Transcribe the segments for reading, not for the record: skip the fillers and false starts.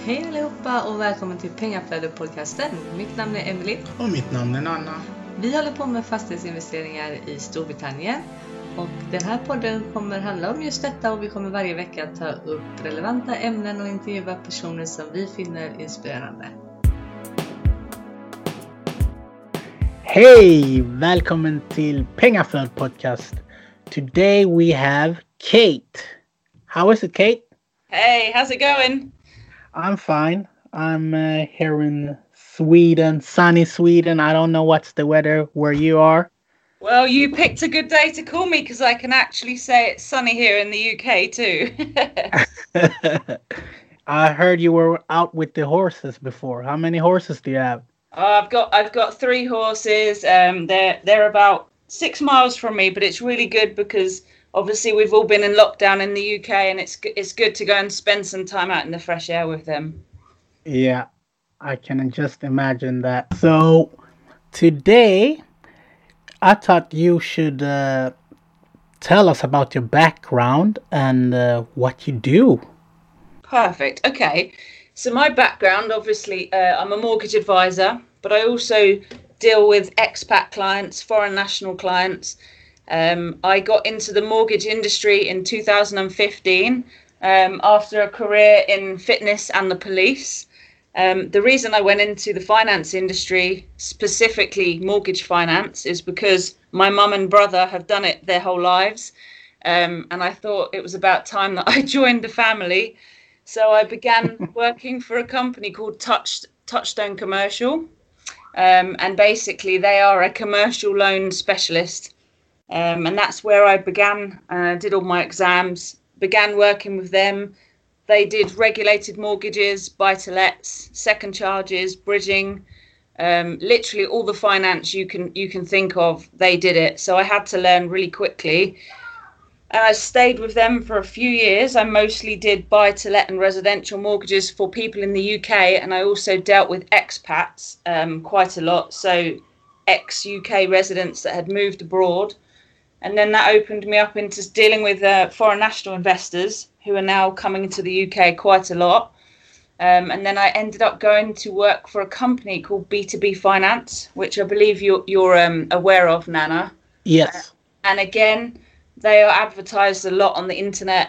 Hej allihopa och välkommen till Pengaflödet-podcasten. Mitt namn är Emily. Och mitt namn är Anna. Vi håller på med fastighetsinvesteringar i Storbritannien. Och den här podden kommer handla om just detta och vi kommer varje vecka ta upp relevanta ämnen och intervjua personer som vi finner inspirerande. Hej! Välkommen till Pengaflödet-podcast. Today we have Kate. How is it, Kate? Hey, how's it going? I'm fine. I'm here in Sweden, sunny Sweden. I don't know what's the weather where you are. Well, you picked a good day to call me because I can actually say it's sunny here in the UK too. I heard you were out with the horses before. How many horses do you have? I've got 3 horses. They're about 6 miles from me, but it's really good because obviously we've all been in lockdown in the UK, and it's good to go and spend some time out in the fresh air with them. Yeah, I can just imagine that. So today, I thought you should tell us about your background and what you do. Perfect. Okay. So my background, obviously, I'm a mortgage advisor, but I also deal with expat clients, foreign national clients. I got into the mortgage industry in 2015 after a career in fitness and the police. The reason I went into the finance industry, specifically mortgage finance, is because my mum and brother have done it their whole lives. And I thought it was about time that I joined the family. So I began working for a company called Touchstone Commercial. And basically they are a commercial loan specialist. And that's where I began, did all my exams, began working with them. They did regulated mortgages, buy-to-lets, second charges, bridging, literally all the finance you can think of, they did it. So I had to learn really quickly. And I stayed with them for a few years. I mostly did buy-to-let and residential mortgages for people in the UK. And I also dealt with expats quite a lot. So ex-UK residents that had moved abroad. And then that opened me up into dealing with foreign national investors who are now coming into the UK quite a lot. And then I ended up going to work for a company called B2B Finance, which I believe you're aware of, Nana. Yes. And again, they are advertised a lot on the internet.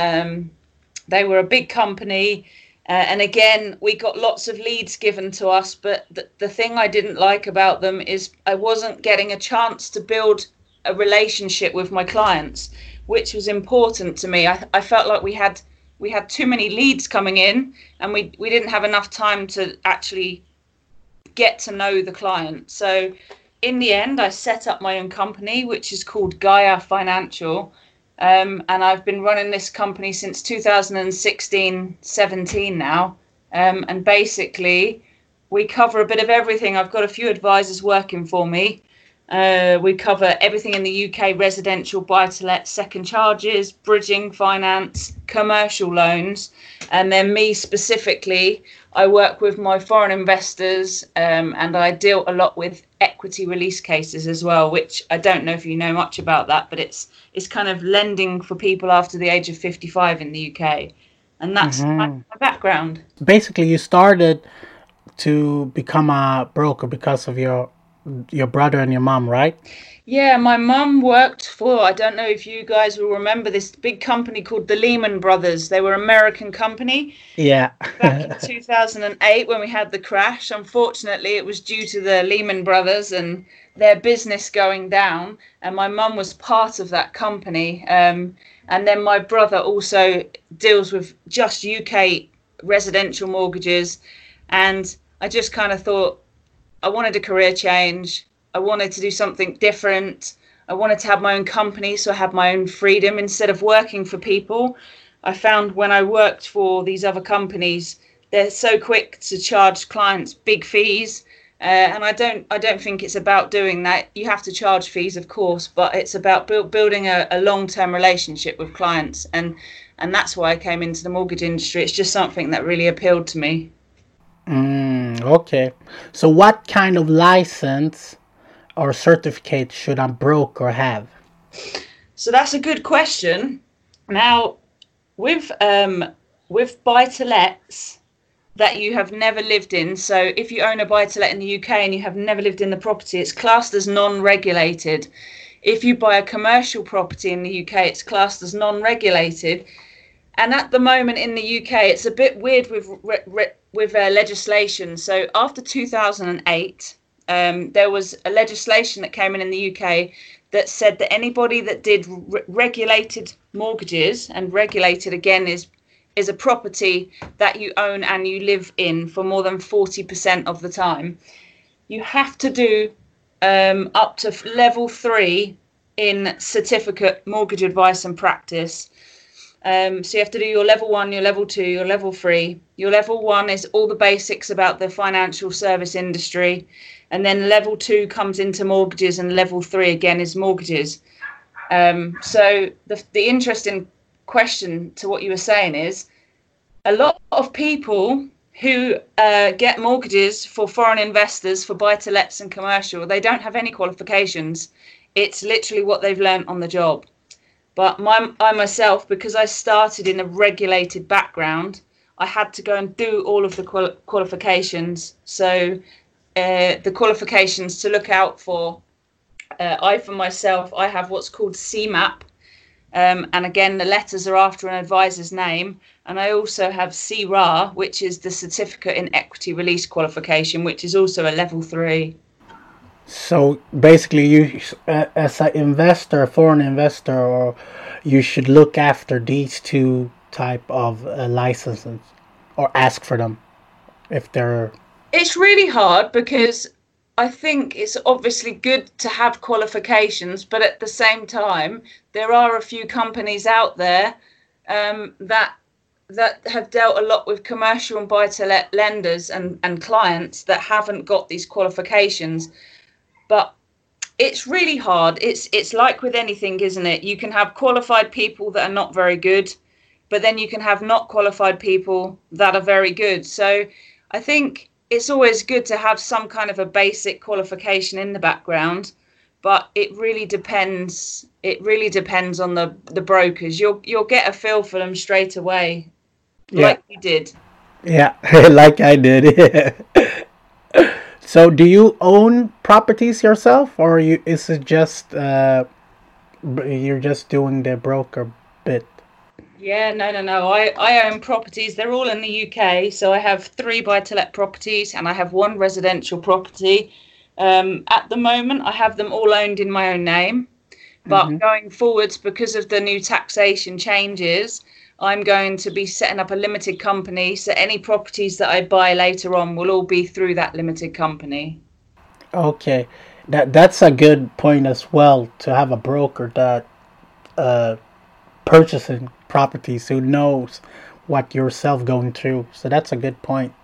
They were a big company. And again, we got lots of leads given to us. But the thing I didn't like about them is I wasn't getting a chance to build a relationship with my clients, which was important to me. I felt like we had too many leads coming in, and we didn't have enough time to actually get to know the client. So in the end, I set up my own company, which is called Gaia Financial. And I've been running this company since 2016-17 now. And basically, we cover a bit of everything. I've got a few advisors working for me. We cover everything in the UK: residential, buy-to-let, second charges, bridging finance, commercial loans. And then me specifically, I work with my foreign investors, and I deal a lot with equity release cases as well, which I don't know if you know much about that, but it's kind of lending for people after the age of 55 in the UK. And that's my background. Basically, you started to become a broker because of your brother and your mom, right? Yeah, my mum worked for, I don't know if you guys will remember, this big company called the Lehman Brothers. They were an American company. Yeah. Back in 2008 when we had the crash. Unfortunately, it was due to the Lehman Brothers and their business going down. And my mum was part of that company. And then my brother also deals with just UK residential mortgages. And I just kind of thought, I wanted a career change. I wanted to do something different. I wanted to have my own company, so I had my own freedom instead of working for people. I found when I worked for these other companies, they're so quick to charge clients big fees. And I don't think it's about doing that. You have to charge fees, of course, but it's about building a long-term relationship with clients. And that's why I came into the mortgage industry. It's just something that really appealed to me. Okay. So what kind of license or certificate should a broker have? So that's a good question. Now, with buy-to-lets, that you have never lived in. So if you own a buy-to-let in the UK and you have never lived in the property, it's classed as non-regulated. If you buy a commercial property in the UK, it's classed as non-regulated. And at the moment in the UK, it's a bit weird with legislation. So after 2008, there was a legislation that came in the UK that said that anybody that did regulated mortgages, and regulated again is a property that you own and you live in for more than 40% of the time, you have to do up to level 3 in certificate mortgage advice and practice. So you have to do your level 1, your level 2, your level 3. Your level 1 is all the basics about the financial service industry. And then level 2 comes into mortgages, and level 3 again is mortgages. So the interesting question to what you were saying is, a lot of people who get mortgages for foreign investors for buy-to-lets and commercial, they don't have any qualifications. It's literally what they've learned on the job. But I myself, because I started in a regulated background, I had to go and do all of the qualifications. So the qualifications to look out for, for myself, I have what's called CMAP. And again, the letters are after an advisor's name. And I also have CRA, which is the Certificate in Equity Release qualification, which is also a level 3. So basically, you, as an investor, a foreign investor, or you should look after these two type of licenses, or ask for them if they're. It's really hard because I think it's obviously good to have qualifications, but at the same time, there are a few companies out there that have dealt a lot with commercial and buy-to-let lenders and clients that haven't got these qualifications. But it's really hard. It's like with anything, isn't it? You can have qualified people that are not very good, but then you can have not qualified people that are very good. So I think it's always good to have some kind of a basic qualification in the background, but it really depends. It really depends on the brokers. You'll get a feel for them straight away, like you did. Yeah, like I did. So, do you own properties yourself, or is it just you're just doing the broker bit? Yeah, no. I own properties. They're all in the UK. So I have 3 buy-to-let properties and I have 1 residential property. At the moment, I have them all owned in my own name. But going forwards, because of the new taxation changes, I'm going to be setting up a limited company. So any properties that I buy later on will all be through that limited company. Okay. That's a good point as well, to have a broker that purchasing properties who knows what yourself going through. So that's a good point.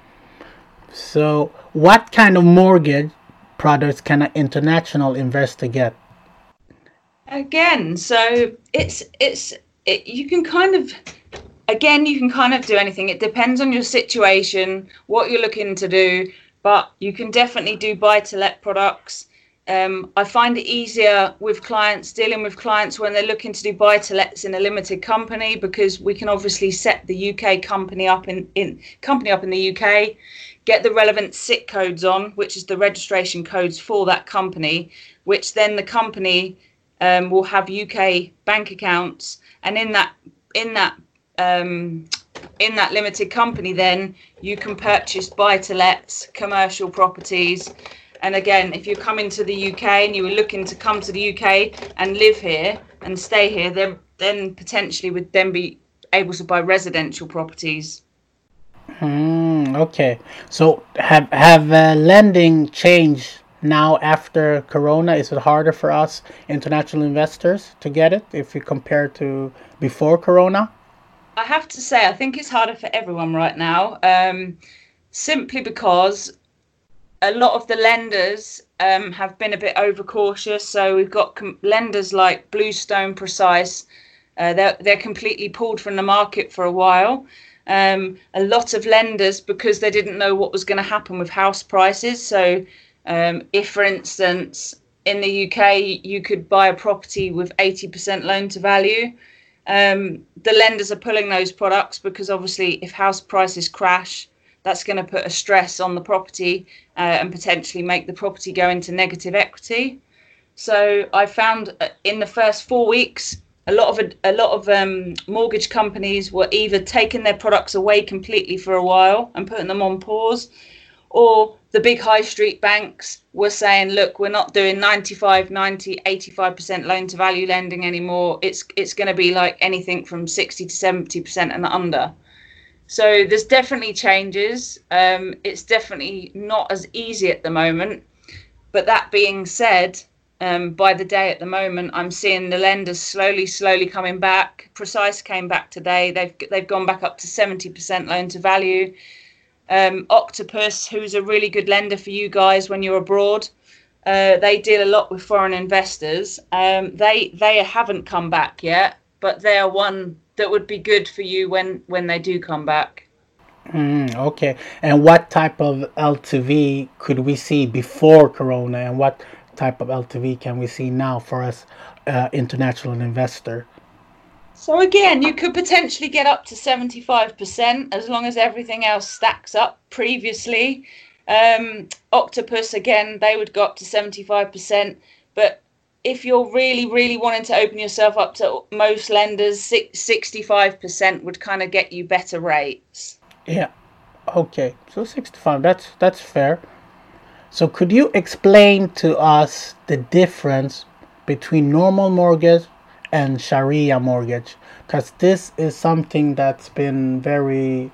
So what kind of mortgage products can an international investor get? Again, so you can kind of do anything. It depends on your situation, what you're looking to do, but you can definitely do buy-to-let products. I find it easier with dealing with clients when they're looking to do buy-to-lets in a limited company, because we can obviously set the UK company up in the UK, get the relevant SIC codes on, which is the registration codes for that company, which then the company will have UK bank accounts, and in that limited company, then you can purchase buy-to-lets, commercial properties. And again, if you're coming to the UK and you were looking to come to the UK and live here and stay here, then potentially would then be able to buy residential properties. Okay. So have lending changed now after Corona? Is it harder for us international investors to get it if you compare to before Corona? I have to say, I think it's harder for everyone right now, simply because a lot of the lenders have been a bit overcautious. So we've got lenders like Bluestone, Precise. They're completely pulled from the market for a while. A lot of lenders, because they didn't know what was going to happen with house prices. So if, for instance, in the UK, you could buy a property with 80% loan to value, the lenders are pulling those products because obviously if house prices crash, that's going to put a stress on the property and potentially make the property go into negative equity. So I found in the first 4 weeks, a lot of mortgage companies were either taking their products away completely for a while and putting them on pause, or the big high street banks were saying, look, we're not doing 95, 90, 85% loan to value lending anymore. It's going to be like anything from 60 to 70% and under. So there's definitely changes. It's definitely not as easy at the moment. But that being said, by the day at the moment, I'm seeing the lenders slowly coming back. Precise came back today. They've gone back up to 70% loan to value. Octopus, who's a really good lender for you guys when you're abroad, they deal a lot with foreign investors. They haven't come back yet, but they are one that would be good for you when they do come back. Okay. And what type of LTV could we see before Corona, and what type of LTV can we see now for us international investor? So again, you could potentially get up to 75% as long as everything else stacks up previously. Octopus, again, they would go up to 75%. But if you're really wanting to open yourself up to most lenders, 65% would kind of get you better rates. Yeah. Okay. So 65, that's fair. So could you explain to us the difference between normal mortgage and Sharia mortgage? Because this is something that's been very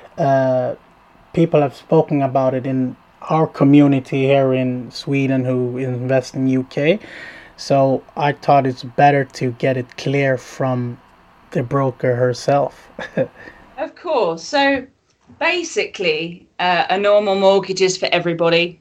people have spoken about it in our community here in Sweden who invest in UK. So I thought it's better to get it clear from the broker herself. Of course. So basically, a normal mortgage is for everybody.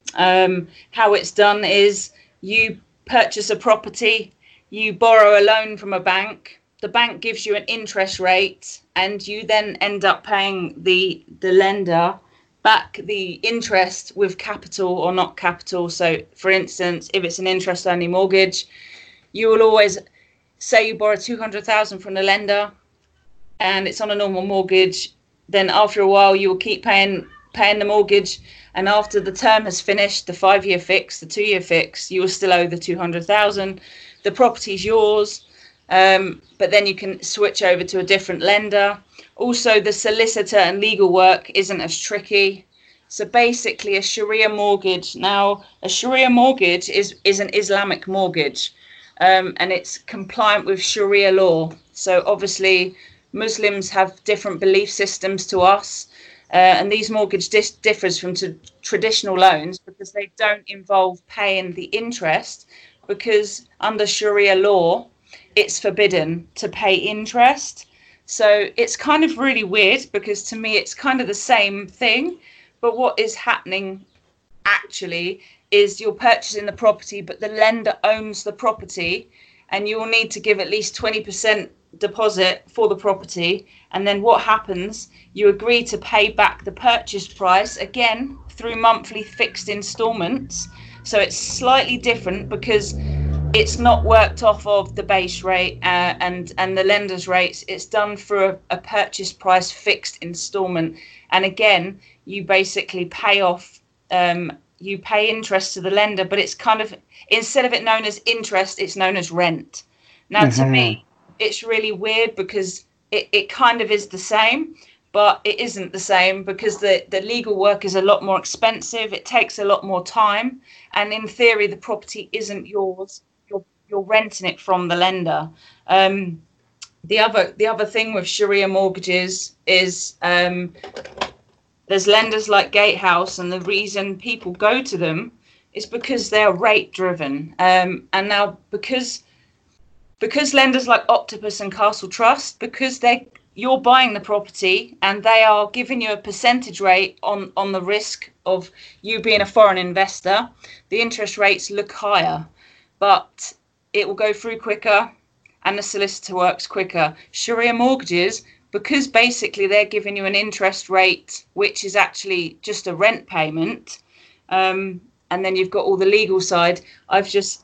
How it's done is you purchase a property, you borrow a loan from a bank, the bank gives you an interest rate, and you then end up paying the lender back the interest with capital or not capital. So for instance, if it's an interest only mortgage, you will always say you borrow 200,000 from the lender and it's on a normal mortgage. Then after a while you will keep paying the mortgage, and after the term has finished, the 5-year fix, the 2-year fix, you will still owe the 200,000. The property's yours, but then you can switch over to a different lender. Also, the solicitor and legal work isn't as tricky. So basically a Sharia mortgage. Now, a Sharia mortgage is an Islamic mortgage, and it's compliant with Sharia law. So obviously Muslims have different belief systems to us, and these mortgage differs from traditional loans because they don't involve paying the interest, because under Sharia law, it's forbidden to pay interest. So it's kind of really weird because to me, it's kind of the same thing. But what is happening actually is you're purchasing the property, but the lender owns the property, and you will need to give at least 20% deposit for the property. And then what happens? You agree to pay back the purchase price again through monthly fixed installments. So it's slightly different because it's not worked off of the base rate and the lender's rates. It's done through a purchase price fixed installment. And again, you basically pay off, you pay interest to the lender, but it's kind of, instead of it known as interest, it's known as rent. Now, to me, it's really weird because it kind of is the same, but it isn't the same because the legal work is a lot more expensive. It takes a lot more time. And in theory, the property isn't yours. You're renting it from the lender. The other thing with Sharia mortgages is there's lenders like Gatehouse, and the reason people go to them is because they're rate driven. And now because lenders like Octopus and Castle Trust, because you're buying the property and they are giving you a percentage rate on the risk of you being a foreign investor, the interest rates look higher, but it will go through quicker and the solicitor works quicker. Sharia mortgages, because basically they're giving you an interest rate, which is actually just a rent payment, and then you've got all the legal side. I've just,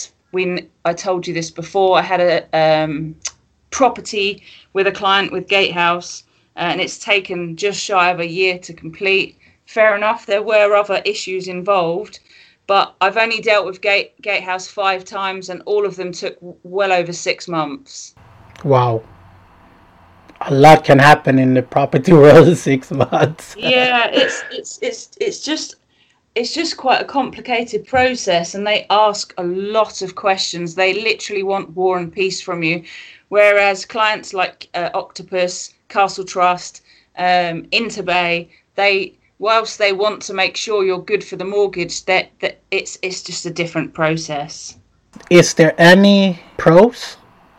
I told you this before, I had a property with a client with Gatehouse, and it's taken just shy of a year to complete. Fair enough, there were other issues involved, but I've only dealt with Gatehouse 5 times, and all of them took well over 6 months. Wow. A lot can happen in the property world in 6 months. Yeah, it's just quite a complicated process, and they ask a lot of questions. They literally want war and peace from you, whereas clients like Octopus, Castle Trust, Interbay, whilst they want to make sure you're good for the mortgage, that it's just a different process. Is there any pros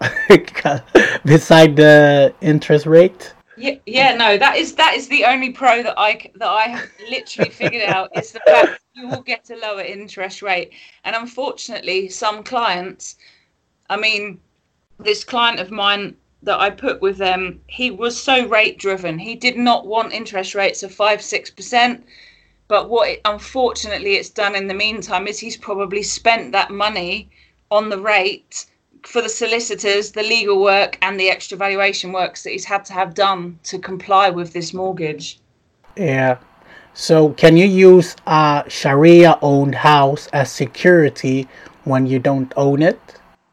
beside the interest rate? Yeah, no, that is the only pro that I have literally figured out, is the fact that you will get a lower interest rate. And unfortunately, some clients, I mean, this client of mine that I put with them, he was so rate driven. He did not want interest rates of 5-6%. But unfortunately it's done in the meantime is he's probably spent that money on the rate for the solicitors, the legal work, and the extra valuation works that he's had to have done to comply with this mortgage. Yeah. So can you use a Sharia-owned house as security when you don't own it?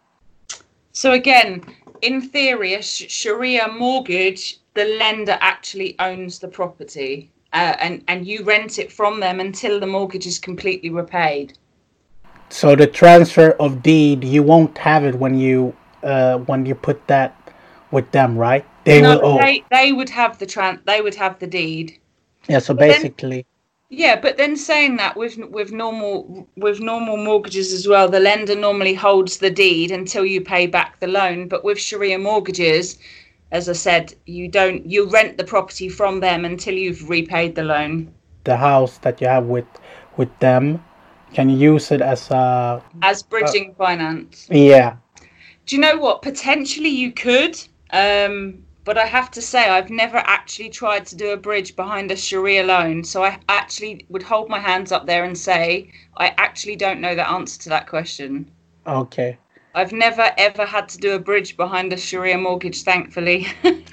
So again, in theory, a Sharia mortgage, the lender actually owns the property, and you rent it from them until the mortgage is completely repaid. So the transfer of deed, you won't have it when you put that with them, right? They would have the deed. Yeah. So basically. But then saying that with normal mortgages as well, the lender normally holds the deed until you pay back the loan. But with Sharia mortgages, as I said, you rent the property from them until you've repaid the loan. The house that you have with them. Can you use it as bridging finance? Yeah. Do you know what? Potentially you could, but I have to say I've never actually tried to do a bridge behind a Sharia loan. So I actually would hold my hands up there and say I actually don't know the answer to that question. Okay. I've never ever had to do a bridge behind a Sharia mortgage, thankfully.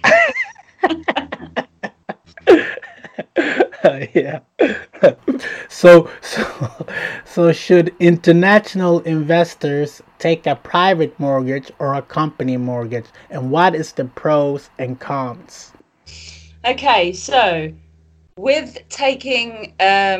Yeah. So should international investors take a private mortgage or a company mortgage, and what is the pros and cons? Okay, so with taking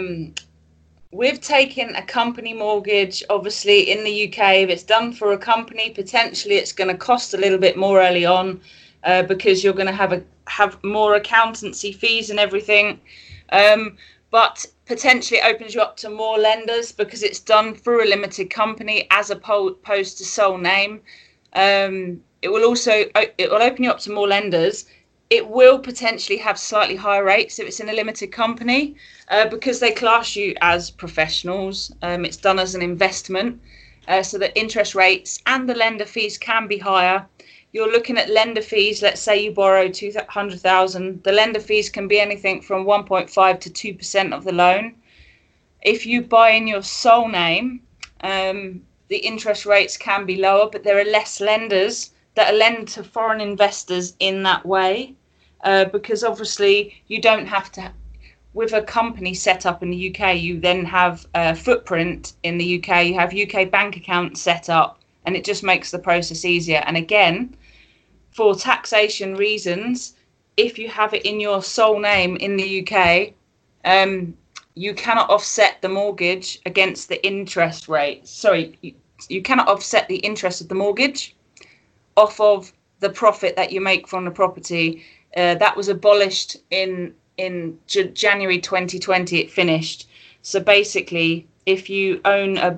a company mortgage, obviously in the UK, if it's done for a company, potentially it's going to cost a little bit more early on, because you're going to have more accountancy fees and everything. But potentially it opens you up to more lenders because it's done through a limited company as opposed to sole name. It will open you up to more lenders. It will potentially have slightly higher rates if it's in a limited company, because they class you as professionals. It's done as an investment, so the interest rates and the lender fees can be higher. You're looking at lender fees. Let's say you borrow 200,000. The lender fees can be anything from 1.5 to 2% of the loan. If you buy in your sole name, the interest rates can be lower, but there are less lenders that lend to foreign investors in that way, because obviously you don't have to. With a company set up in the UK, you then have a footprint in the UK. You have UK bank accounts set up, and it just makes the process easier. And again, for taxation reasons, if you have it in your sole name in the UK, you cannot offset the mortgage against the interest rate. Sorry, you cannot offset the interest of the mortgage off of the profit that you make from the property. That was abolished in January 2020. It finished. So basically, if you own a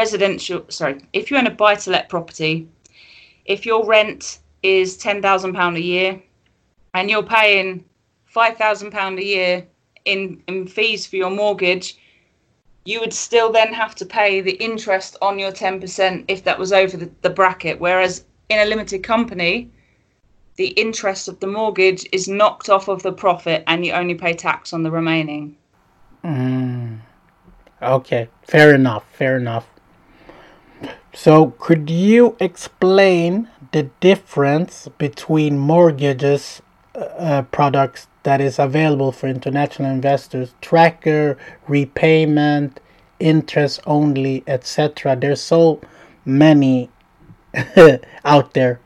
buy-to-let property, if your rent is £10,000 a year and you're paying £5,000 a year in fees for your mortgage, you would still then have to pay the interest on your 10% if that was over the bracket. Whereas in a limited company, the interest of the mortgage is knocked off of the profit and you only pay tax on the remaining. Okay, fair enough. So could you explain the difference between mortgages products that is available for international investors: tracker, repayment, interest only, etc. There's so many out there.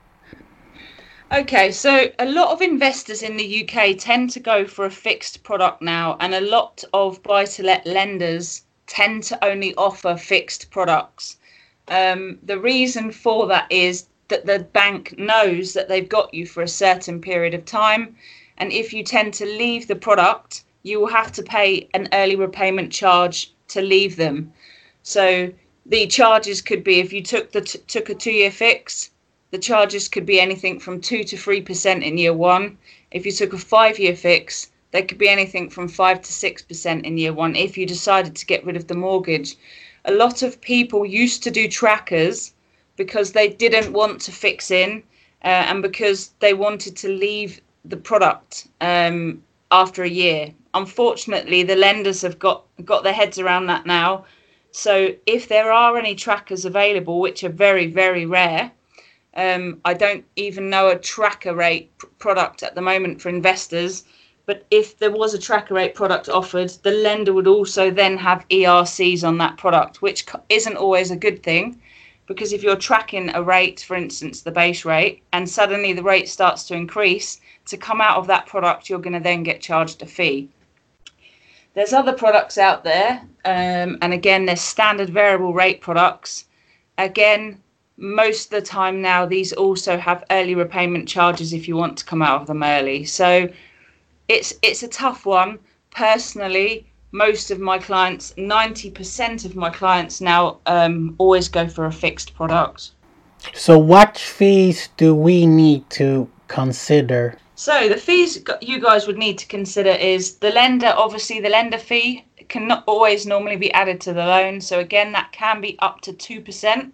Okay, so a lot of investors in the UK tend to go for a fixed product now, and a lot of buy-to-let lenders tend to only offer fixed products. The reason for that is that the bank knows that they've got you for a certain period of time, and if you tend to leave the product, you will have to pay an early repayment charge to leave them. So the charges could be, if you took a 2-year fix, the charges could be anything from 2 to 3% in year one. If you took a 5-year fix, they could be anything from 5 to 6% in year one if you decided to get rid of the mortgage. A lot of people used to do trackers because they didn't want to fix in and because they wanted to leave the product after a year. Unfortunately, the lenders have got their heads around that now. So if there are any trackers available, which are very, very rare, I don't even know a tracker rate product at the moment for investors. But if there was a tracker rate product offered, the lender would also then have ERCs on that product, which isn't always a good thing, because if you're tracking a rate, for instance, the base rate, and suddenly the rate starts to increase, to come out of that product, you're going to then get charged a fee. There's other products out there, and again, there's standard variable rate products. Again, most of the time now, these also have early repayment charges if you want to come out of them early. So it's a tough one. Personally, most of my clients, 90% of my clients now always go for a fixed product. So what fees do we need to consider? So the fees you guys would need to consider is the lender. Obviously, the lender fee cannot always normally be added to the loan. So again, that can be up to 2%.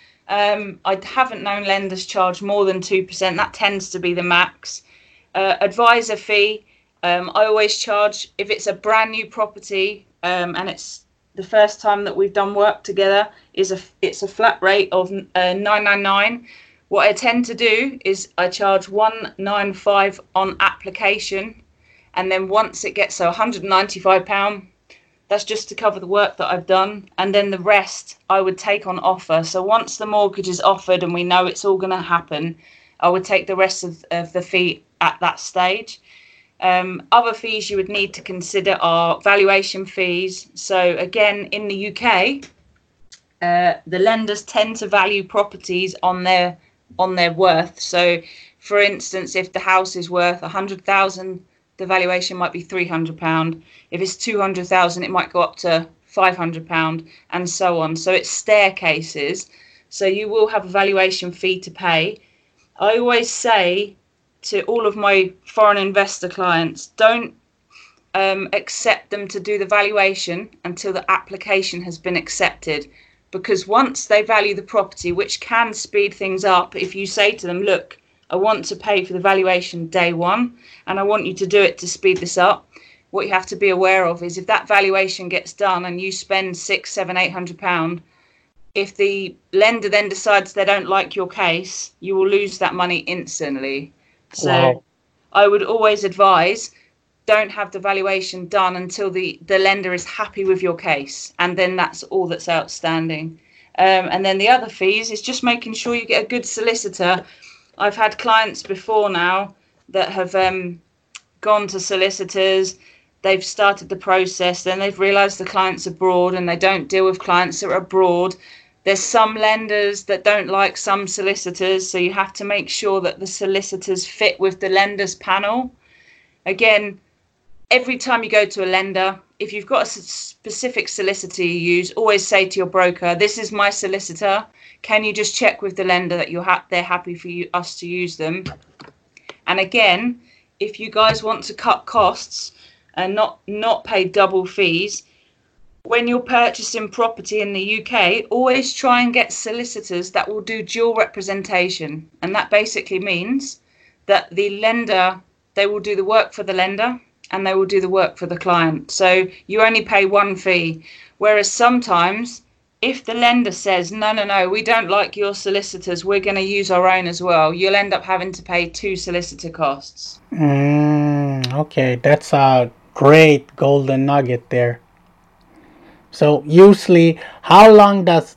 I haven't known lenders charge more than 2%. That tends to be the max. Advisor fee, I always charge if it's a brand new property and it's the first time that we've done work together. It's a flat rate of $999. What I tend to do is I charge $195 on application, and then once it gets so £195. That's just to cover the work that I've done. And then the rest I would take on offer. So once the mortgage is offered and we know it's all going to happen, I would take the rest of the fee at that stage. Other fees you would need to consider are valuation fees. So again, in the UK, the lenders tend to value properties on their worth. So for instance, if the house is worth 100,000, the valuation might be £300. If it's 200,000, it might go up to £500, and so on. So it's staircases. So you will have a valuation fee to pay. I always say to all of my foreign investor clients, don't accept them to do the valuation until the application has been accepted. Because once they value the property, which can speed things up, if you say to them, look, I want to pay for the valuation day one, and I want you to do it to speed this up. What you have to be aware of is if that valuation gets done and you spend £600, £700, £800, if the lender then decides they don't like your case, you will lose that money instantly. So wow. I would always advise, don't have the valuation done until the lender is happy with your case, and then that's all that's outstanding. And then the other fees is just making sure you get a good solicitor. I've had clients before now that have gone to solicitors, they've started the process, then they've realised the client's abroad and they don't deal with clients that are abroad. There's some lenders that don't like some solicitors, so you have to make sure that the solicitors fit with the lenders panel. Again, every time you go to a lender, if you've got a specific solicitor you use, always say to your broker, this is my solicitor. Can you just check with the lender that they're happy for us to use them? And again, if you guys want to cut costs and not pay double fees, when you're purchasing property in the UK, always try and get solicitors that will do dual representation. And that basically means that the lender, they will do the work for the lender and they will do the work for the client. So you only pay one fee. Whereas sometimes if the lender says, no, we don't like your solicitors, we're going to use our own as well, you'll end up having to pay 2 solicitor costs. Okay, that's a great golden nugget there. So usually, how long does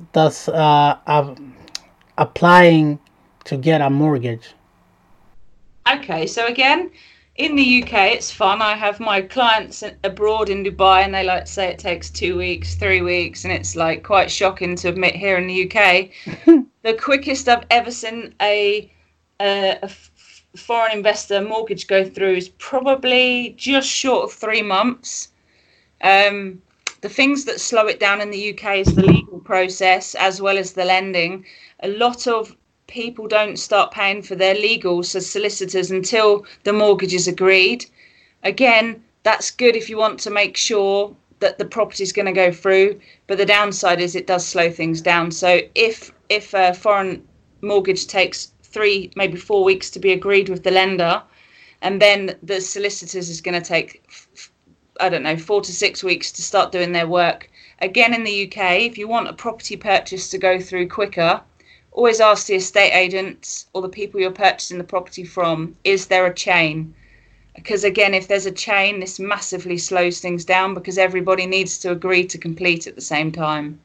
applying to get a mortgage? Okay, so again, in the UK, it's fun. I have my clients abroad in Dubai, and they like to say it takes 2 weeks, 3 weeks, and it's like quite shocking to admit here in the UK. The quickest I've ever seen a foreign investor mortgage go through is probably just short of 3 months. The things that slow it down in the UK is the legal process as well as the lending. A lot of people don't start paying for their legals as solicitors until the mortgage is agreed. Again, that's good if you want to make sure that the property is going to go through, but the downside is it does slow things down. So if a foreign mortgage takes 3, maybe 4 weeks to be agreed with the lender, and then the solicitors is going to take 4 to 6 weeks to start doing their work. Again, in the UK, if you want a property purchase to go through quicker, always ask the estate agents or the people you're purchasing the property from, is there a chain? Because again, if there's a chain, this massively slows things down because everybody needs to agree to complete at the same time.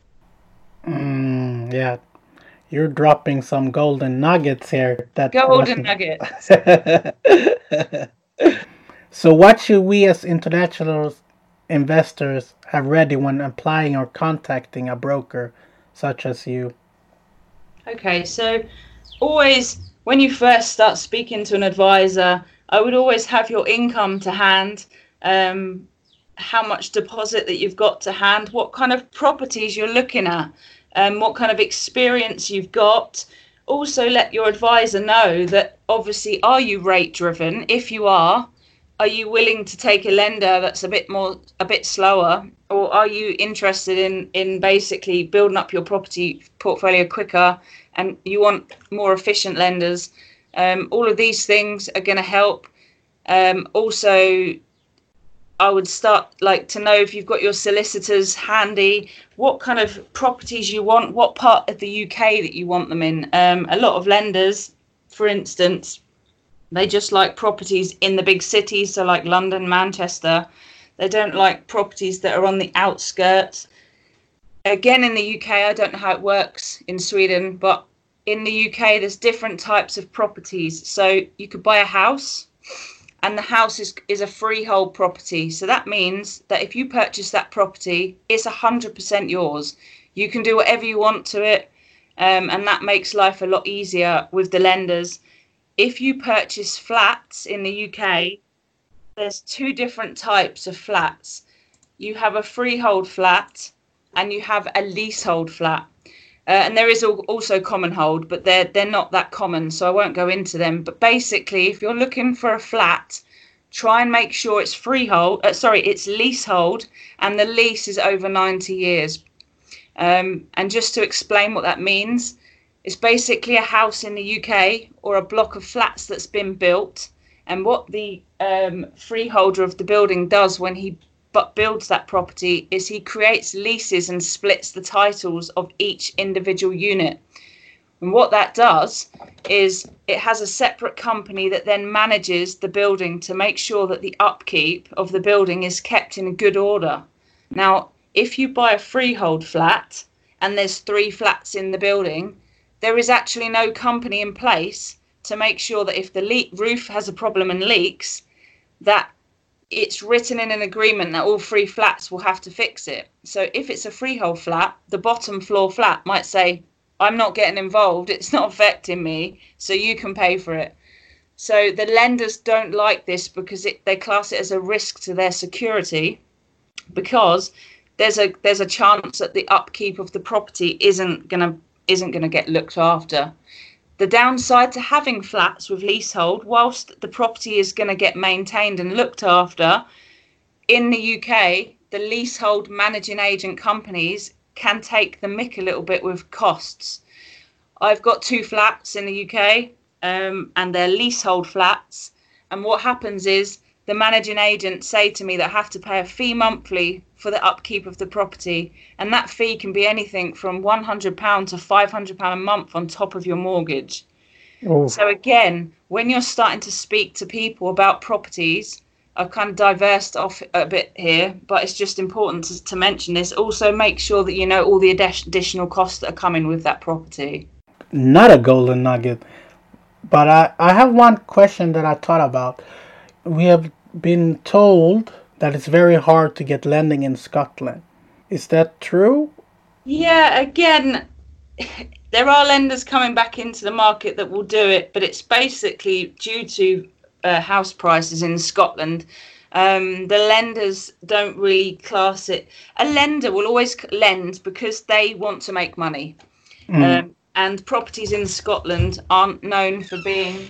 Yeah, you're dropping some golden nuggets here. Golden nuggets. So what should we as international investors have ready when applying or contacting a broker such as you? Okay, so always when you first start speaking to an advisor, I would always have your income to hand, how much deposit that you've got to hand, what kind of properties you're looking at, what kind of experience you've got. Also let your advisor know that obviously, are you rate driven? If you are you willing to take a lender that's a bit slower, or are you interested in basically building up your property portfolio quicker and you want more efficient lenders? All of these things are going to help. Also, I would start to know if you've got your solicitors handy, what kind of properties you want, what part of the UK that you want them in. A lot of lenders, for instance, they just like properties in the big cities, so like London, Manchester. They don't like properties that are on the outskirts. Again, in the UK, I don't know how it works in Sweden, but in the UK, there's different types of properties. So you could buy a house, and the house is a freehold property. So that means that if you purchase that property, it's 100% yours. You can do whatever you want to it, and that makes life a lot easier with the lenders. If you purchase flats in the UK, there's 2 different types of flats. You have a freehold flat and you have a leasehold flat. And there is also common hold, but they're not that common, so I won't go into them. But basically, if you're looking for a flat, try and make sure it's it's leasehold, and the lease is over 90 years. And just to explain what that means, it's basically a house in the UK or a block of flats that's been built. And what the freeholder of the building does when he builds that property is he creates leases and splits the titles of each individual unit. And what that does is it has a separate company that then manages the building to make sure that the upkeep of the building is kept in good order. Now, if you buy a freehold flat and there's 3 flats in the building, there is actually no company in place to make sure that if the roof has a problem and leaks, that it's written in an agreement that all 3 flats will have to fix it. So if it's a freehold flat, the bottom floor flat might say, I'm not getting involved, it's not affecting me, so you can pay for it. So the lenders don't like this because they class it as a risk to their security, because there's a chance that the upkeep of the property isn't gonna get looked after. The downside to having flats with leasehold, whilst the property is going to get maintained and looked after, in the UK, the leasehold managing agent companies can take the mick a little bit with costs. I've got 2 flats in the UK, and they're leasehold flats. And what happens is the managing agent say to me that I have to pay a fee monthly for the upkeep of the property, and that fee can be anything from £100 to £500 a month on top of your mortgage. Oh. So again, when you're starting to speak to people about properties, I've kind of diversed off a bit here, but it's just important to mention this. Also, make sure that you know all the additional costs that are coming with that property. Not a golden nugget, but I have one question that I thought about. We have been told that it's very hard to get lending in Scotland. Is that true? Yeah, again, there are lenders coming back into the market that will do it, but it's basically due to house prices in Scotland. The lenders don't really class it. A lender will always lend because they want to make money. And properties in Scotland aren't known for being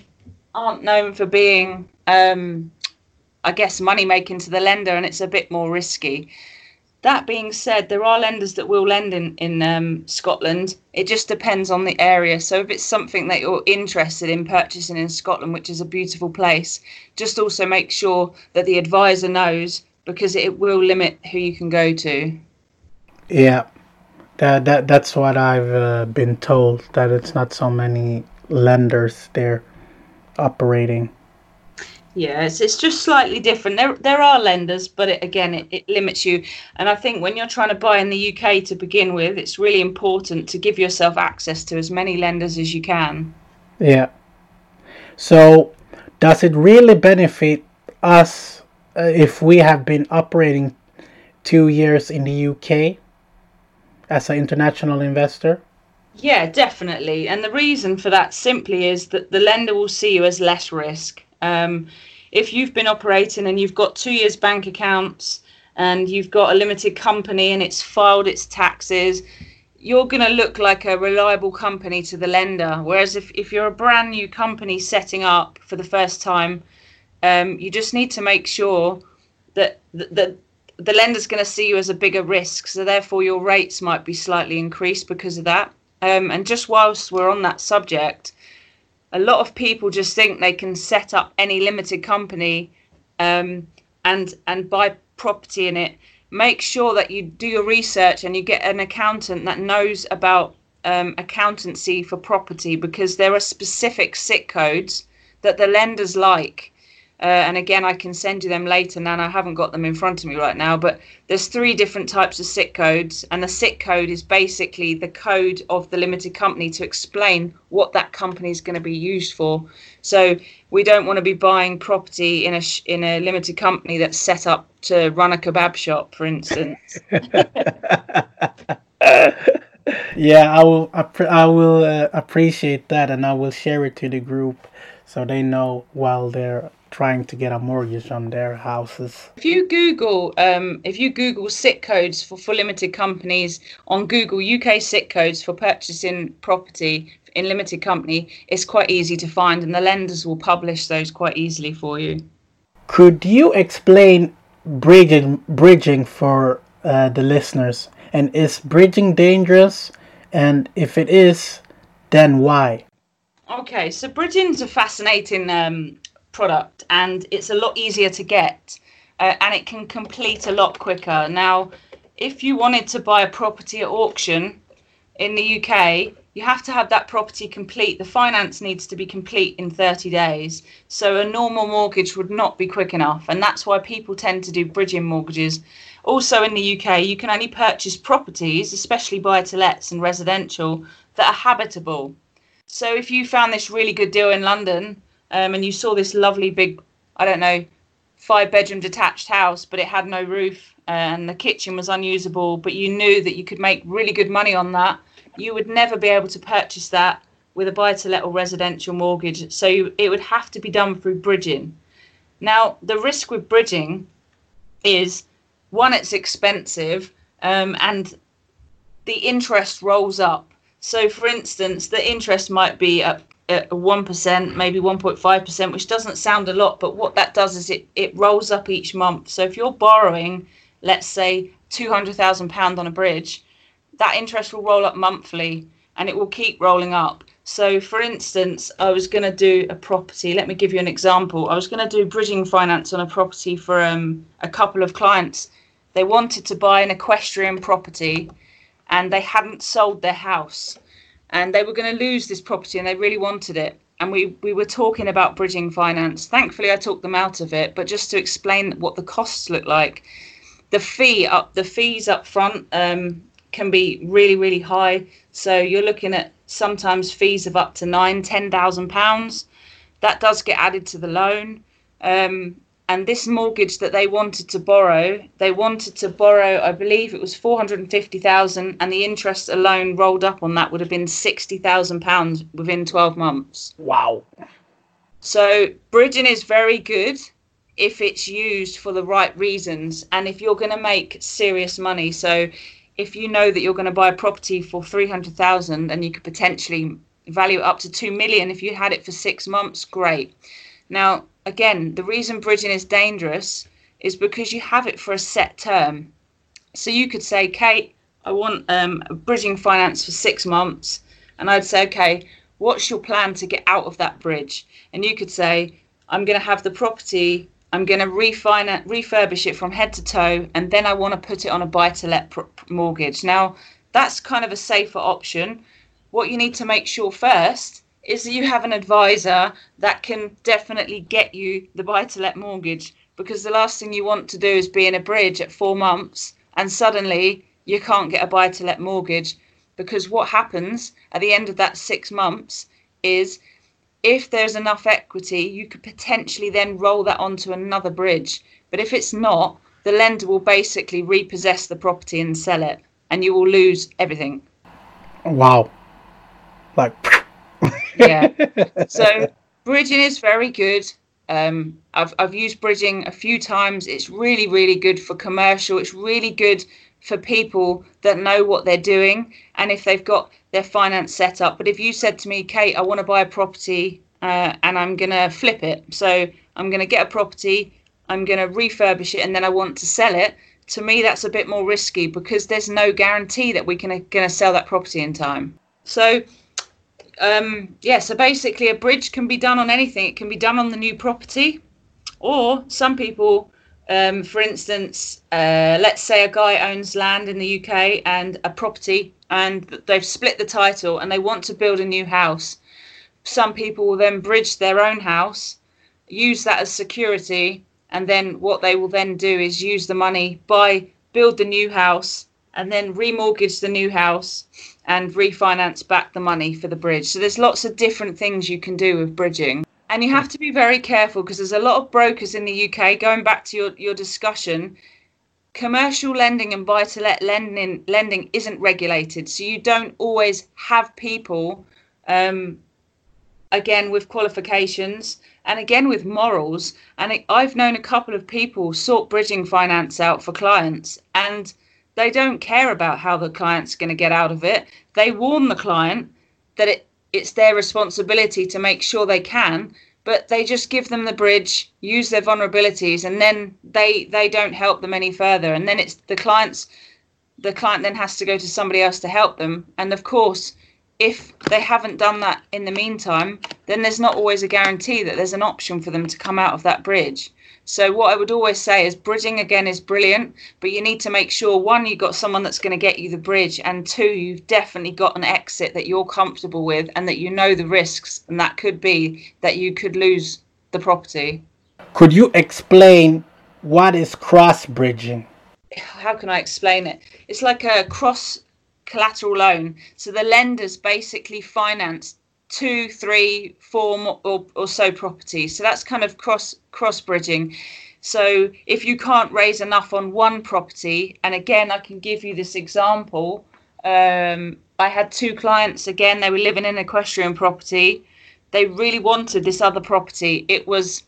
I guess money making to the lender, and it's a bit more risky. That being said, there are lenders that will lend in Scotland. It just depends on the area. So if it's something that you're interested in purchasing in Scotland, which is a beautiful place, just also make sure that the advisor knows, because it will limit who you can go to. Yeah, that's what I've been told, that it's not so many lenders there operating. Yeah, it's just slightly different. There are lenders, but it limits you. And I think when you're trying to buy in the UK to begin with, it's really important to give yourself access to as many lenders as you can. Yeah. So does it really benefit us if we have been operating 2 years in the UK as an international investor? Yeah, definitely. And the reason for that simply is that the lender will see you as less risk. If you've been operating and you've got 2 years bank accounts and you've got a limited company and it's filed its taxes, you're going to look like a reliable company to the lender. Whereas if you're a brand new company setting up for the first time, you just need to make sure that the lender's going to see you as a bigger risk. So therefore your rates might be slightly increased because of that. And just whilst we're on that subject, a lot of people just think they can set up any limited company and buy property in it. Make sure that you do your research and you get an accountant that knows about accountancy for property, because there are specific SIC codes that the lenders like. And again, I can send you them later, Nan. I haven't got them in front of me right now, but there's 3 different types of SIC codes, and the SIC code is basically the code of the limited company to explain what that company is going to be used for. So we don't want to be buying property in a limited company that's set up to run a kebab shop, for instance. Yeah, I will appreciate that, and I will share it to the group so they know while they're trying to get a mortgage on their houses. If you Google SIC codes for limited companies on Google, UK SIC codes for purchasing property in limited company, it's quite easy to find, and the lenders will publish those quite easily for you. Could you explain bridging for the listeners? And is bridging dangerous? And if it is, then why? Okay, so bridging's a fascinating product, and it's a lot easier to get, and it can complete a lot quicker. Now, if you wanted to buy a property at auction in the UK, you have to have that property complete. The finance needs to be complete in 30 days. So a normal mortgage would not be quick enough, and that's why people tend to do bridging mortgages. Also in the UK, you can only purchase properties, especially buy-to-lets and residential, that are habitable. So if you found this really good deal in London, and you saw this lovely big, 5-bedroom detached house, but it had no roof and the kitchen was unusable, but you knew that you could make really good money on that, you would never be able to purchase that with a buy-to-let or residential mortgage. So it would have to be done through bridging. Now, the risk with bridging is, one, it's expensive, and the interest rolls up. So, for instance, the interest might be at 1%, maybe 1.5%, which doesn't sound a lot, but what that does is it rolls up each month. So if you're borrowing, let's say £200,000 on a bridge, that interest will roll up monthly and it will keep rolling up. So, for instance, I was going to do a property. Let me give you an example. I was going to do bridging finance on a property for a couple of clients. They wanted to buy an equestrian property and they hadn't sold their house. And they were going to lose this property and they really wanted it. And we were talking about bridging finance. Thankfully, I talked them out of it. But just to explain what the costs look like, the fees up front can be really, really high. So you're looking at sometimes fees of up to £9,000-10,000. That does get added to the loan. And this mortgage that they wanted to borrow, I believe it was 450,000, and the interest alone rolled up on that would have been £60,000 within 12 months. Wow. So bridging is very good if it's used for the right reasons, and if you're going to make serious money. So if you know that you're going to buy a property for 300,000 and you could potentially value it up to 2 million if you had it for 6 months, great. Now, again, the reason bridging is dangerous is because you have it for a set term. So you could say, Kate, I want a bridging finance for 6 months. And I'd say, okay, what's your plan to get out of that bridge? And you could say, I'm going to have the property, I'm going to refurbish it from head to toe, and then I want to put it on a buy-to-let mortgage. Now, that's kind of a safer option. What you need to make sure first is that you have an advisor that can definitely get you the buy-to-let mortgage, because the last thing you want to do is be in a bridge at 4 months and suddenly you can't get a buy-to-let mortgage. Because what happens at the end of that 6 months is, if there's enough equity, you could potentially then roll that onto another bridge. But if it's not, the lender will basically repossess the property and sell it, and you will lose everything. Wow. Like, yeah. So bridging is very good. I've used bridging a few times. It's really, really good for commercial. It's really good for people that know what they're doing and if they've got their finance set up. But if you said to me, Kate, I want to buy a property and I'm going to flip it. So I'm going to get a property, I'm going to refurbish it, and then I want to sell it. To me, that's a bit more risky because there's no guarantee that we're going to sell that property in time. So so basically a bridge can be done on anything. It can be done on the new property, or some people, for instance, let's say a guy owns land in the UK and a property, and they've split the title and they want to build a new house. Some people will then bridge their own house, use that as security, and then what they will then do is use the money, build the new house, and then remortgage the new house and refinance back the money for the bridge. So there's lots of different things you can do with bridging. And you have to be very careful because there's a lot of brokers in the UK, going back to your discussion, commercial lending and buy-to-let lending isn't regulated. So you don't always have people, again, with qualifications and again with morals. And I've known a couple of people sort bridging finance out for clients, and they don't care about how the client's going to get out of it. They warn the client that it's their responsibility to make sure they can, but they just give them the bridge, use their vulnerabilities, and then they don't help them any further. And then it's the client then has to go to somebody else to help them. And of course, if they haven't done that in the meantime, then there's not always a guarantee that there's an option for them to come out of that bridge. So what I would always say is bridging, again, is brilliant, but you need to make sure, one, you've got someone that's going to get you the bridge, and two, you've definitely got an exit that you're comfortable with and that you know the risks, and that could be that you could lose the property. Could you explain what is cross-bridging? How can I explain it? It's like a cross collateral loan. So the lenders basically finance 2, 3, 4 or so properties. So that's kind of cross bridging. So if you can't raise enough on one property, and again, I can give you this example. I had 2 clients, again, they were living in an equestrian property. They really wanted this other property. It was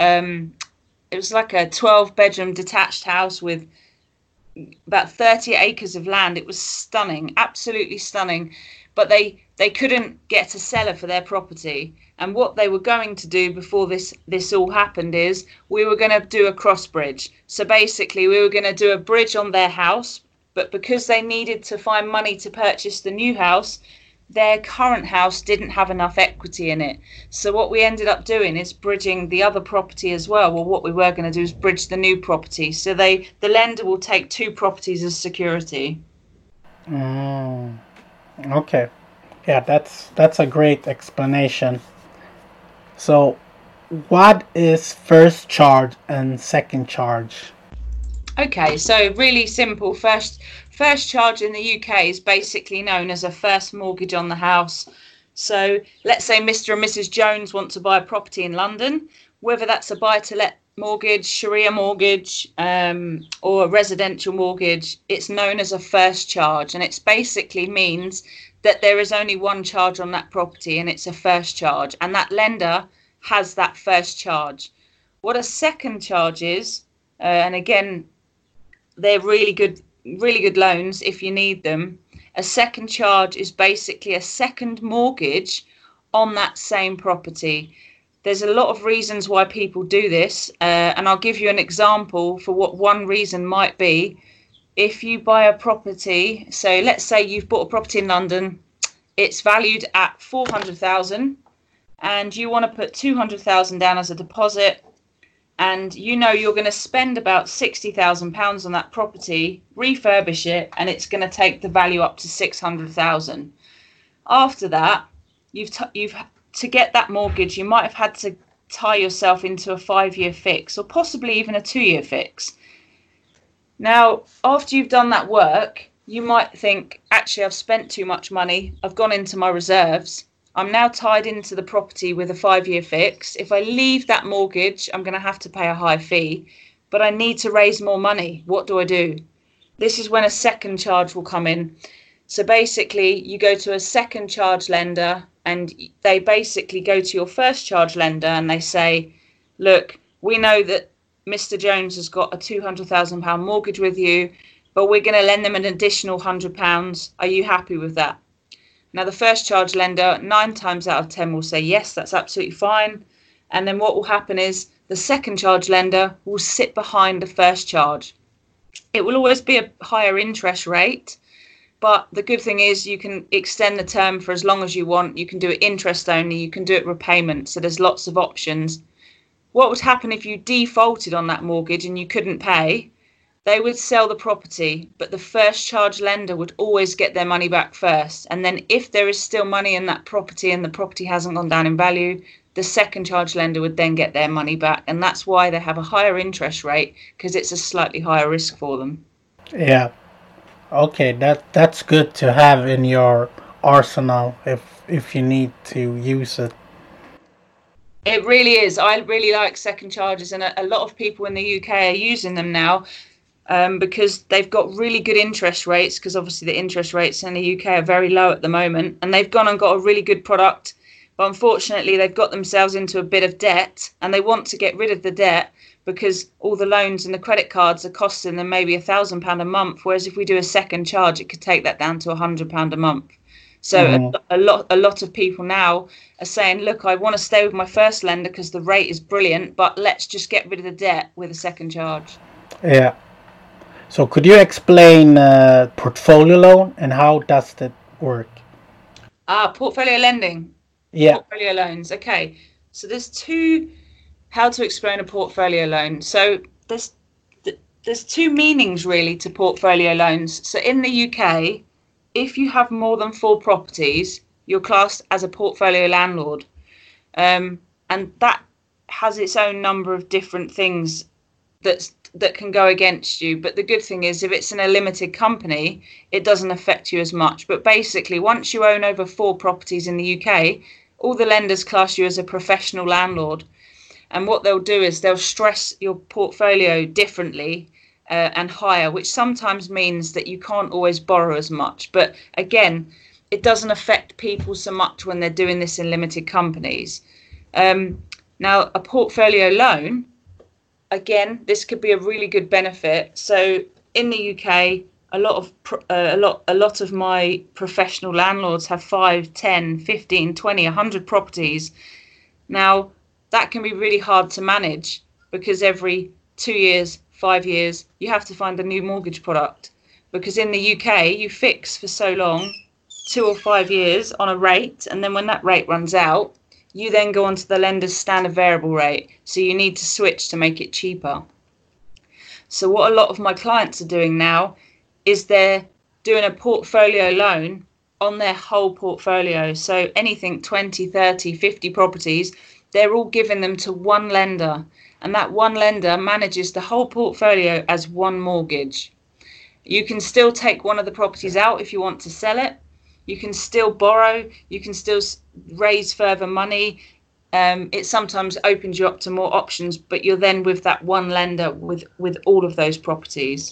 like a 12-bedroom detached house with about 30 acres of land. It was stunning, absolutely stunning. But they couldn't get a seller for their property. And what they were going to do before this all happened is we were going to do a cross bridge. So basically we were going to do a bridge on their house, but because they needed to find money to purchase the new house, their current house didn't have enough equity in it. So what we ended up doing is bridging the other property as well. Well, what we were going to do is bridge the new property. So the lender will take 2 properties as security. Okay. Yeah, that's a great explanation. So what is first charge and second charge? Okay, so really simple. First charge in the UK is basically known as a first mortgage on the house. So let's say Mr. and Mrs. Jones want to buy a property in London, whether that's a buy-to-let mortgage, Sharia mortgage, or a residential mortgage. It's known as a first charge, and it basically means that there is only one charge on that property, and it's a first charge, and that lender has that first charge. What a second charge is, and again, they're really good loans if you need them. A second charge is basically a second mortgage on that same property. There's a lot of reasons why people do this, and I'll give you an example for what one reason might be. If you buy a property, so let's say you've bought a property in London, it's valued at 400,000, and you want to put 200,000 down as a deposit, and you know you're going to spend about £60,000 on that property, refurbish it, and it's going to take the value up to 600,000. After that, you've to get that mortgage, you might have had to tie yourself into a 5-year fix, or possibly even a 2-year fix. Now, after you've done that work, you might think, actually, I've spent too much money. I've gone into my reserves. I'm now tied into the property with a 5-year fix. If I leave that mortgage, I'm going to have to pay a high fee, but I need to raise more money. What do I do? This is when a second charge will come in. So basically, you go to a second charge lender, and they basically go to your first charge lender and they say, look, we know that Mr. Jones has got a £200,000 mortgage with you, but we're going to lend them an additional £100. Are you happy with that? Now, the first charge lender, 9 times out of 10 will say, yes, that's absolutely fine. And then what will happen is the second charge lender will sit behind the first charge. It will always be a higher interest rate, but the good thing is you can extend the term for as long as you want. You can do it interest only. You can do it repayment. So there's lots of options. What would happen if you defaulted on that mortgage and you couldn't pay? They would sell the property, but the first charge lender would always get their money back first. And then if there is still money in that property and the property hasn't gone down in value, the second charge lender would then get their money back. And that's why they have a higher interest rate, because it's a slightly higher risk for them. Yeah. Okay, that's good to have in your arsenal if you need to use it. It really is. I really like second charges, and a lot of people in the UK are using them now because they've got really good interest rates, because obviously the interest rates in the UK are very low at the moment, and they've gone and got a really good product. But unfortunately, they've got themselves into a bit of debt, and they want to get rid of the debt because all the loans and the credit cards are costing them maybe £1,000 a month. Whereas if we do a second charge, it could take that down to £100 a month. So a lot of people now are saying, look, I want to stay with my first lender because the rate is brilliant, but let's just get rid of the debt with a second charge. Yeah. So could you explain portfolio loan and how does that work? Portfolio lending. Yeah. Portfolio loans. Okay. So there's how to explain a portfolio loan. So there's 2 meanings really to portfolio loans. So in the UK, if you have more than 4 properties, you're classed as a portfolio landlord. And that has its own number of different things that can go against you. But the good thing is, if it's in a limited company, it doesn't affect you as much. But basically, once you own over 4 properties in the UK, all the lenders class you as a professional landlord. And what they'll do is they'll stress your portfolio differently and higher, which sometimes means that you can't always borrow as much. But again, it doesn't affect people so much when they're doing this in limited companies. Now, a portfolio loan, again, this could be a really good benefit. So in the UK, a lot of my professional landlords have 5, 10, 15, 20, 100 properties. Now, that can be really hard to manage because every 2 years, 5 years, you have to find a new mortgage product. Because in the UK, you fix for so long 2 or 5 years on a rate, and then when that rate runs out, you then go on to the lender's standard variable rate. So you need to switch to make it cheaper. So what a lot of my clients are doing now is they're doing a portfolio loan on their whole portfolio. So anything 20, 30, 50 properties, they're all giving them to one lender. And that one lender manages the whole portfolio as one mortgage. You can still take one of the properties out if you want to sell it. You can still borrow. You can still raise further money. It sometimes opens you up to more options, but you're then with that one lender with all of those properties.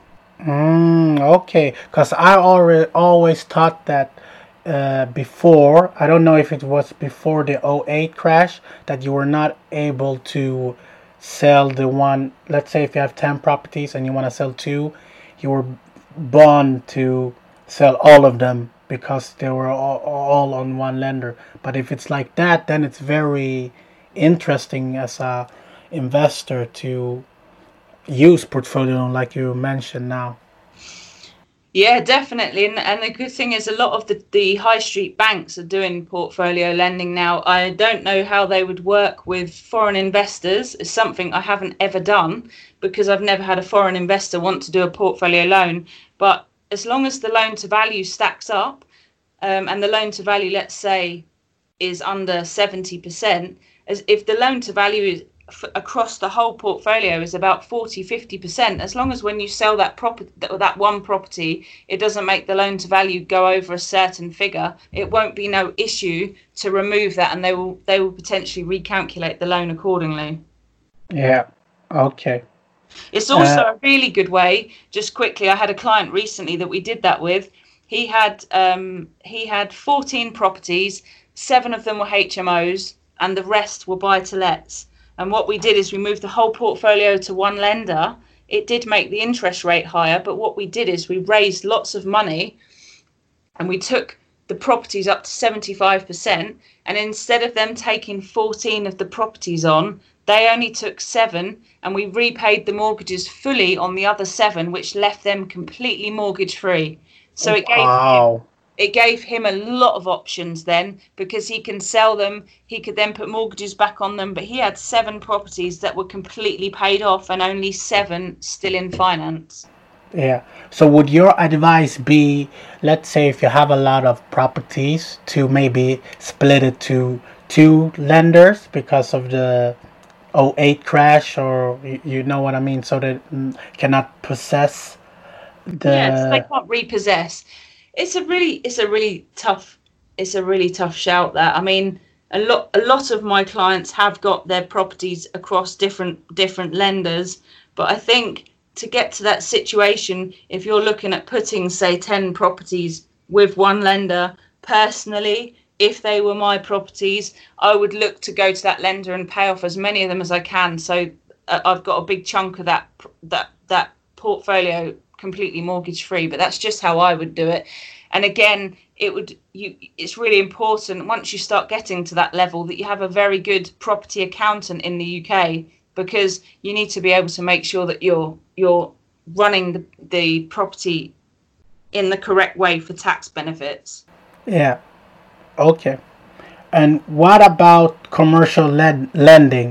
Okay, because I always thought that before, I don't know if it was before the '08 crash, that you were not able to sell the one. Let's say if you have 10 properties and you want to sell 2, you were bound to sell all of them because they were all on one lender. But if it's like that, then it's very interesting as a investor to use portfolio like you mentioned now. Yeah, definitely. And the good thing is a lot of the high street banks are doing portfolio lending now. I don't know how they would work with foreign investors. It's something I haven't ever done because I've never had a foreign investor want to do a portfolio loan. But as long as the loan to value stacks up, and the loan to value, let's say, is under 70%, as if the loan to value is across the whole portfolio is about 40-50%, as long as when you sell that one property, it doesn't make the loan to value go over a certain figure, it won't be no issue to remove that, and they will potentially recalculate the loan accordingly. Yeah. Okay. It's also a really good way. Just quickly, I had a client recently that we did that with. He had 14 properties, 7 of them were HMOs, and the rest were buy-to-lets. And what we did is we moved the whole portfolio to one lender. It did make the interest rate higher, but what we did is we raised lots of money and we took the properties up to 75%. And instead of them taking 14 of the properties on, they only took 7, and we repaid the mortgages fully on the other 7, which left them completely mortgage free. So it gave him a lot of options then, because he can sell them, he could then put mortgages back on them, but he had 7 properties that were completely paid off and only 7 still in finance. Yeah. So would your advice be, let's say if you have a lot of properties, to maybe split it to 2 lenders because of the '08 crash, or you know what I mean, so they cannot possess the... Yes, they can't repossess. It's a really tough shout, that. I mean, a lot of my clients have got their properties across different lenders, but I think to get to that situation, if you're looking at putting, say, 10 properties with one lender, personally, if they were my properties, I would look to go to that lender and pay off as many of them as I can. So I've got a big chunk of that portfolio completely mortgage free, but that's just how I would do it. And again, it's really important once you start getting to that level that you have a very good property accountant in the UK, because you need to be able to make sure that you're running the property in the correct way for tax benefits. Yeah. Okay. And what about commercial lending?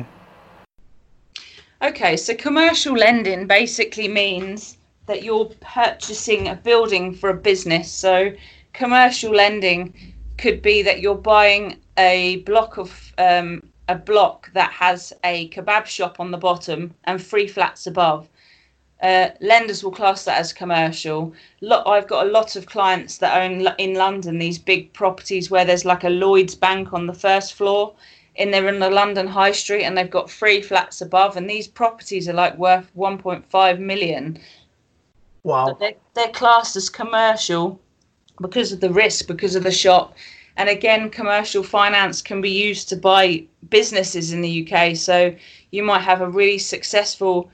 Okay, so commercial lending basically means that you're purchasing a building for a business. So commercial lending could be that you're buying a block that has a kebab shop on the bottom and 3 flats above. Lenders will class that as commercial. I've got a lot of clients that own in London these big properties where there's like a Lloyds Bank on the first floor, and they're in the London High Street, and they've got 3 flats above, and these properties are like worth 1.5 million. Wow. So they're classed as commercial because of the risk, because of the shop. And again, commercial finance can be used to buy businesses in the UK. So you might have a really successful,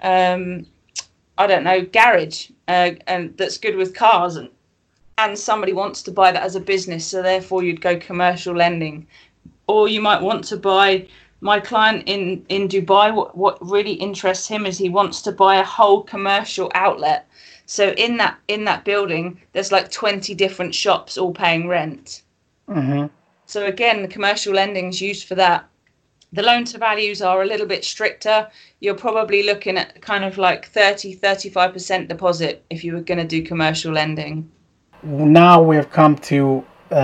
garage and that's good with cars, and somebody wants to buy that as a business. So therefore you'd go commercial lending. Or you might want to buy my client in Dubai, what really interests him is he wants to buy a whole commercial outlet. So in that building, there's like 20 different shops all paying rent. Mm-hmm. So again, the commercial lending is used for that. The loan to values are a little bit stricter. You're probably looking at kind of like 35% deposit if you were going to do commercial lending. Now we've come to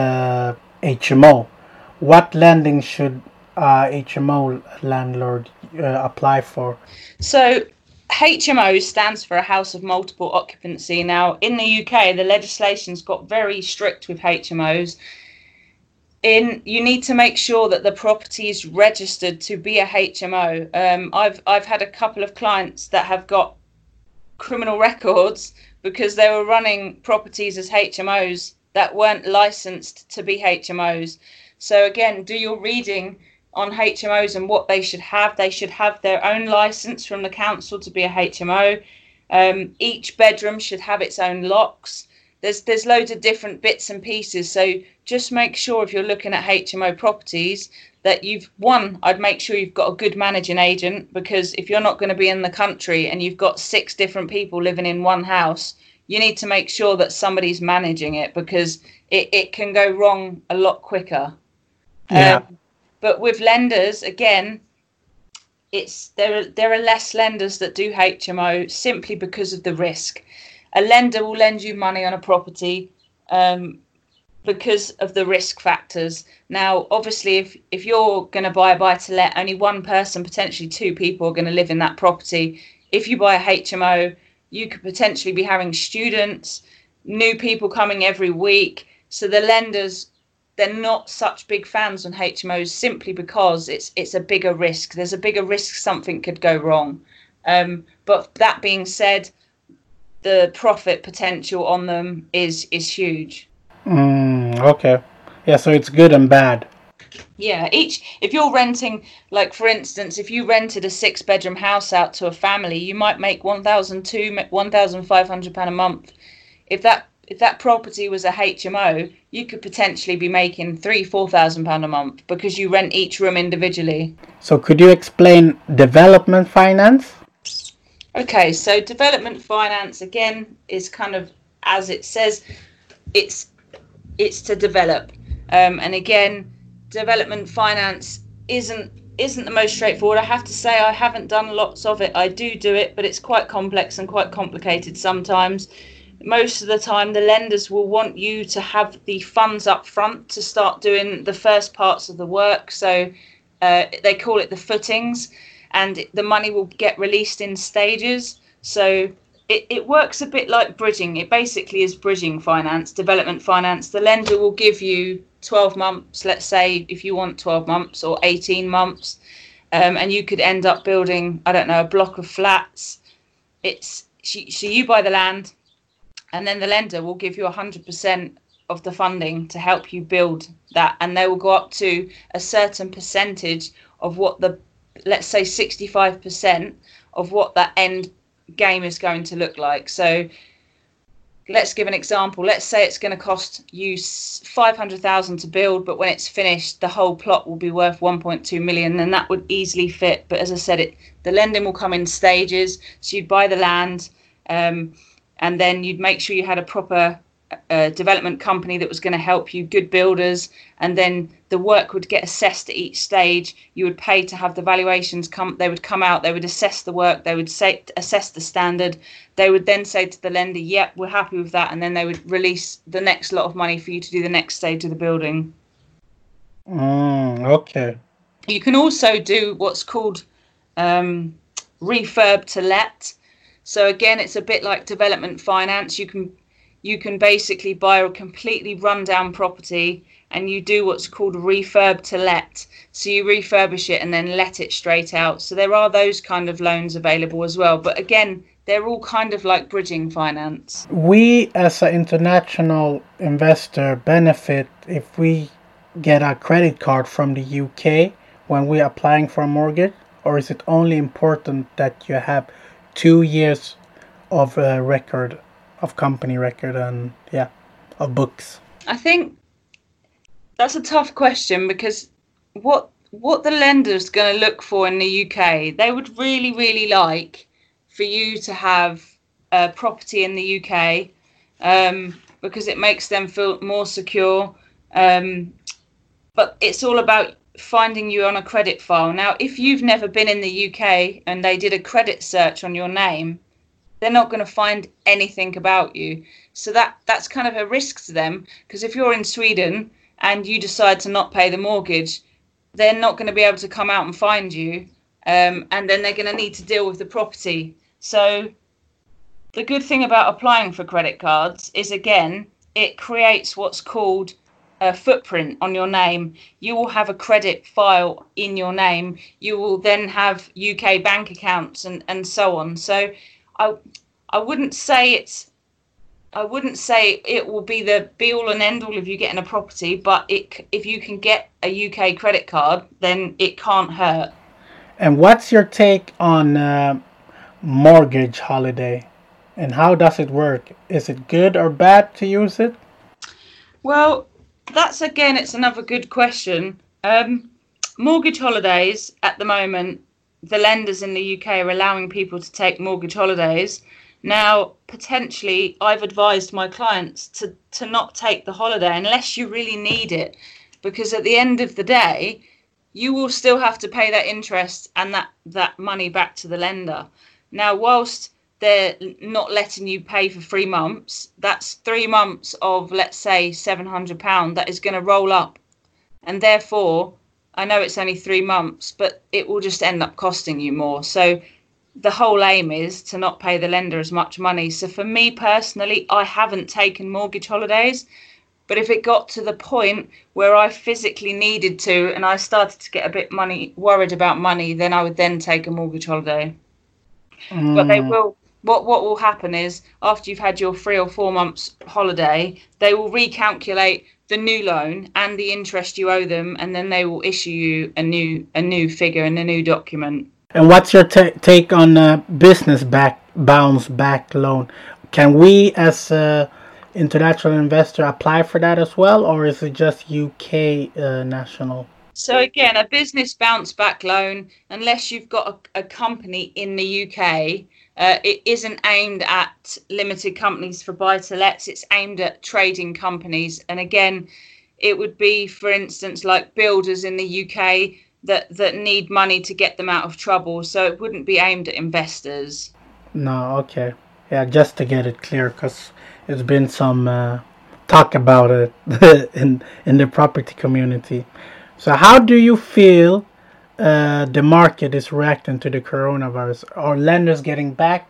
HMO. What lending should HMO landlord apply for? So HMO stands for a house of multiple occupancy. Now in the UK, the legislation's got very strict with HMOs. You need to make sure that the property is registered to be a HMO. I've had a couple of clients that have got criminal records because they were running properties as HMOs that weren't licensed to be HMOs. So again, do your reading on HMOs and what they should have. They should have their own license from the council to be a HMO. Each bedroom should have its own locks. There's loads of different bits and pieces. So just make sure if you're looking at HMO properties that I'd make sure you've got a good managing agent, because if you're not going to be in the country and you've got 6 different people living in one house, you need to make sure that somebody's managing it, because it can go wrong a lot quicker. Yeah. But with lenders, again, there are less lenders that do HMO simply because of the risk. A lender will lend you money on a property because of the risk factors. Now, obviously, if you're going to buy a buy-to-let, only one person, potentially 2 people, are going to live in that property. If you buy a HMO, you could potentially be having students, new people coming every week. So the lenders, they're not such big fans on HMOs simply because it's a bigger risk. There's a bigger risk something could go wrong. But that being said, the profit potential on them is huge. Okay. Yeah, so it's good and bad. Yeah, if you're renting, like for instance, if you rented a 6-bedroom house out to a family, you might make £1,500 a month. If that property was a HMO, you could potentially be making £4,000 a month because you rent each room individually. So could you explain development finance? Okay, so development finance again is kind of, as it says, it's to develop, and again, development finance isn't the most straightforward. I have to say I haven't done lots of it. I do it, but it's quite complex and quite complicated sometimes. Most of the time, the lenders will want you to have the funds up front to start doing the first parts of the work. So they call it the footings, and the money will get released in stages. So it works a bit like bridging. It basically is bridging finance, development finance. The lender will give you 12 months, let's say, if you want 12 months or 18 months, and you could end up building, I don't know, a block of flats. So you buy the land, and then the lender will give you 100% of the funding to help you build that, and they will go up to a certain percentage of what let's say 65% of what that end game is going to look like. So let's give an example. Let's say it's going to cost you 500,000 to build, but when it's finished, the whole plot will be worth 1.2 million, and that would easily fit. But as I said, the lending will come in stages. So you'd buy the land, and then you'd make sure you had a proper development company that was going to help you, good builders, and then the work would get assessed at each stage. You would pay to have the valuations come. They would come out, they would assess the work, they would assess the standard. They would then say to the lender, yep, we're happy with that, and then they would release the next lot of money for you to do the next stage of the building. Okay. You can also do what's called refurb to let. So again, it's a bit like development finance. You can basically buy a completely rundown property and you do what's called refurb to let. So you refurbish it and then let it straight out. So there are those kind of loans available as well. But again, they're all kind of like bridging finance. We as an international investor benefit if we get a credit card from the UK when we're applying for a mortgage, or is it only important that you have 2 years of record, of company record, and of books? I think that's a tough question, because what what the lender's going to look for in the UK, they would really, really like for you to have a property in the UK, because it makes them feel more secure. But it's all about finding you on a credit file. Now, if you've never been in the UK and they did a credit search on your name, they're not going to find anything about you. So that's kind of a risk to them, because if you're in Sweden and you decide to not pay the mortgage, they're not going to be able to come out and find you, and then they're going to need to deal with the property. So the good thing about applying for credit cards is, again, it creates what's called a footprint on your name. You will have a credit file in your name. You will then have UK bank accounts and so on. So I wouldn't say it will be the be all and end all of you getting a property, but if you can get a UK credit card, then it can't hurt. And what's your take on mortgage holiday, and how does it work? Is it good or bad to use it? Well, it's another good question. Mortgage holidays at the moment, the lenders in the UK are allowing people to take mortgage holidays. Now, potentially, I've advised my clients to not take the holiday unless you really need it, because at the end of the day, you will still have to pay that interest and that money back to the lender. Now, whilst they're not letting you pay for 3 months, that's 3 months of, let's say, £700 that is going to roll up. And therefore, I know it's only 3 months, but it will just end up costing you more. So the whole aim is to not pay the lender as much money. So for me personally, I haven't taken mortgage holidays. But if it got to the point where I physically needed to and I started to get a bit worried about money, then I would then take a mortgage holiday. But they will. What will happen is, after you've had your 3 or 4 months holiday, they will recalculate the new loan and the interest you owe them, and then they will issue you a new figure and a new document. And what's your take on business bounce back loan? Can we, as a international investor, apply for that as well, or is it just UK national? So again, a business bounce back loan, unless you've got a company in the UK, it isn't aimed at limited companies for buy-to-lets. It's aimed at trading companies. And again, it would be, for instance, like builders in the UK that need money to get them out of trouble. So it wouldn't be aimed at investors. No, okay. Yeah, just to get it clear, because there's been some talk about it in the property community. So how do you feel the market is reacting to the coronavirus? Are lenders getting back,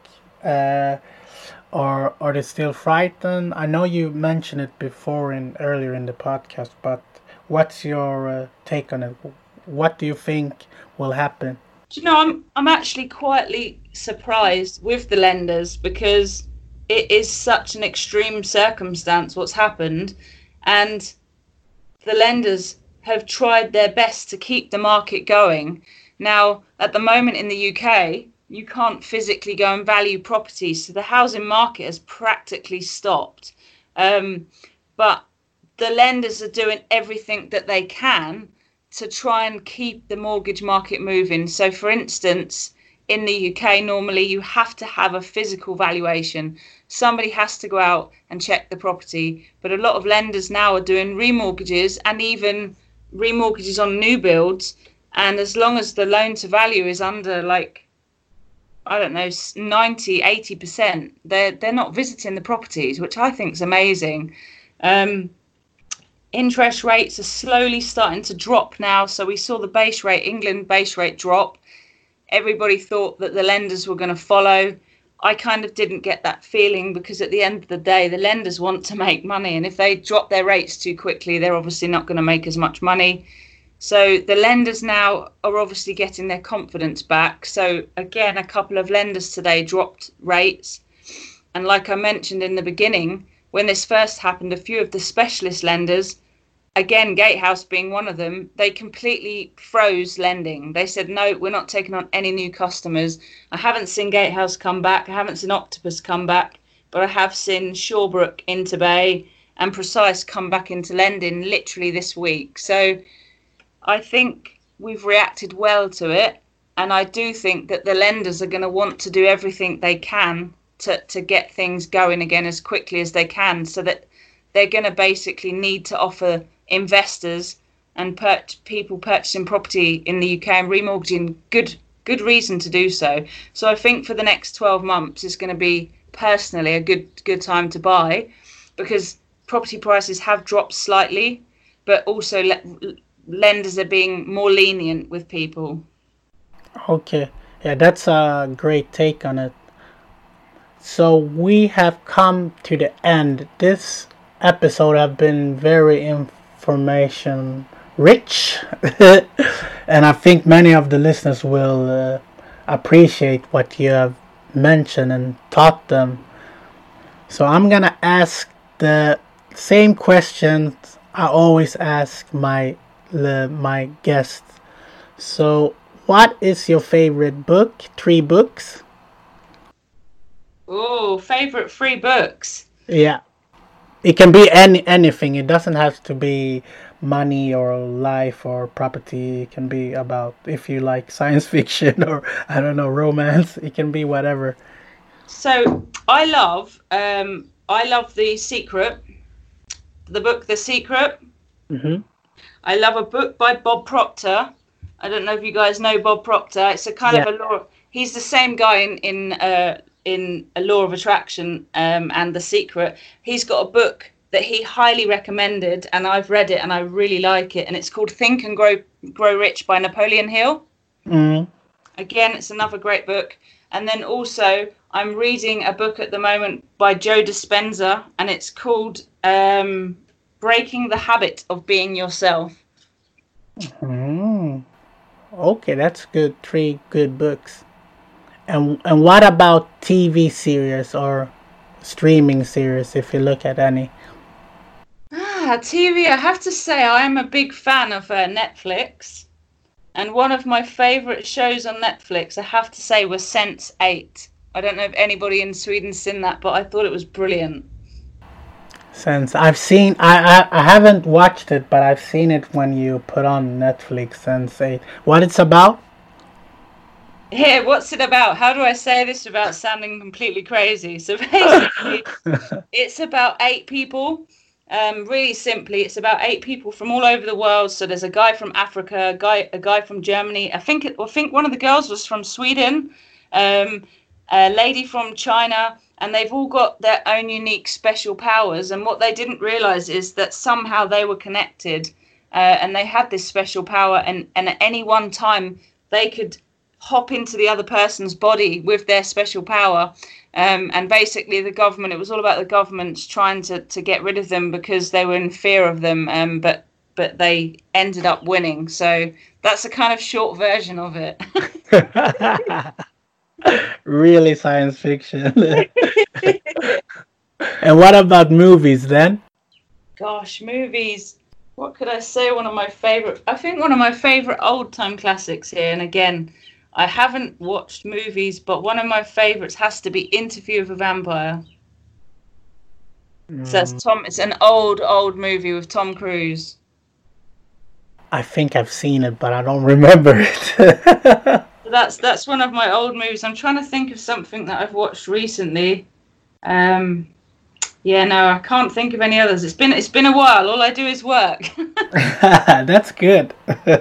or are they still frightened? I know you mentioned it before earlier in the podcast, but what's your take on it? What do you think will happen? Do you know, I'm actually quietly surprised with the lenders, because it is such an extreme circumstance what's happened, and the lenders have tried their best to keep the market going. Now, at the moment in the UK, you can't physically go and value properties, so the housing market has practically stopped. But the lenders are doing everything that they can to try and keep the mortgage market moving. So, for instance, in the UK, normally you have to have a physical valuation. Somebody has to go out and check the property. But a lot of lenders now are doing remortgages, and even remortgages on new builds, and as long as the loan to value is under, like, I don't know, 90-80%, they're not visiting the properties, which I think is amazing. Interest rates are slowly starting to drop now. So we saw the England base rate drop. Everybody thought that the lenders were going to follow. I kind of didn't get that feeling, because at the end of the day, the lenders want to make money. And if they drop their rates too quickly, they're obviously not going to make as much money. So the lenders now are obviously getting their confidence back. So again, a couple of lenders today dropped rates. And like I mentioned in the beginning, when this first happened, a few of the specialist lenders, again, Gatehouse being one of them, they completely froze lending. They said, no, we're not taking on any new customers. I haven't seen Gatehouse come back. I haven't seen Octopus come back, but I have seen Shawbrook, Interbay and Precise come back into lending literally this week. So I think we've reacted well to it, and I do think that the lenders are going to want to do everything they can to get things going again as quickly as they can, so that they're going to basically need to offer investors and people purchasing property in the UK and remortgaging good reason to do so. So I think for the next 12 months it's going to be personally a good time to buy, because property prices have dropped slightly, but also lenders are being more lenient with people. Okay, yeah, that's a great take on it. So we have come to the end. This episode have been very information rich, and I think many of the listeners will appreciate what you have mentioned and taught them. So I'm gonna ask the same questions I always ask my guests. So, what is your favorite book? 3 books? Oh, favorite 3 books. Yeah, it can be anything. It doesn't have to be money or life or property. It can be about, if you like science fiction or I don't know, romance. It can be whatever. So I love The Secret, the book The Secret. Mm-hmm. I love a book by Bob Proctor. I don't know if you guys know Bob Proctor. It's a kind of a law. He's the same guy in A Law of Attraction and The Secret. He's got a book that he highly recommended, and I've read it and I really like it. And it's called Think and Grow Rich by Napoleon Hill. Mm. Again, it's another great book. And then also, I'm reading a book at the moment by Joe Dispenza, and it's called Breaking the Habit of Being Yourself. Mm. Okay, that's good. 3 good books. And what about TV series or streaming series, if you look at any? TV, I have to say I am a big fan of Netflix. And one of my favourite shows on Netflix, I have to say, was Sense8. I don't know if anybody in Sweden's seen that, but I thought it was brilliant. Sense, I've seen, I haven't watched it, but I've seen it when you put on Netflix, Sense8. What it's about? Yeah, what's it about? How do I say this without sounding completely crazy? So basically, it's about 8 people. Really simply, it's about 8 people from all over the world. So there's a guy from Africa, a guy from Germany. I think one of the girls was from Sweden, a lady from China, and they've all got their own unique special powers. And what they didn't realize is that somehow they were connected, and they had this special power. And at any one time, they could hop into the other person's body with their special power. And basically the government, it was all about the government trying to get rid of them because they were in fear of them, but they ended up winning. So that's a kind of short version of it. Really science fiction. And what about movies then? Gosh, movies. What could I say? I think one of my favorite old time classics here, and again, I haven't watched movies, but one of my favourites has to be Interview with a Vampire. So it's an old movie with Tom Cruise. I think I've seen it, but I don't remember it. That's one of my old movies. I'm trying to think of something that I've watched recently. Yeah, no, I can't think of any others. It's been a while. All I do is work. That's good.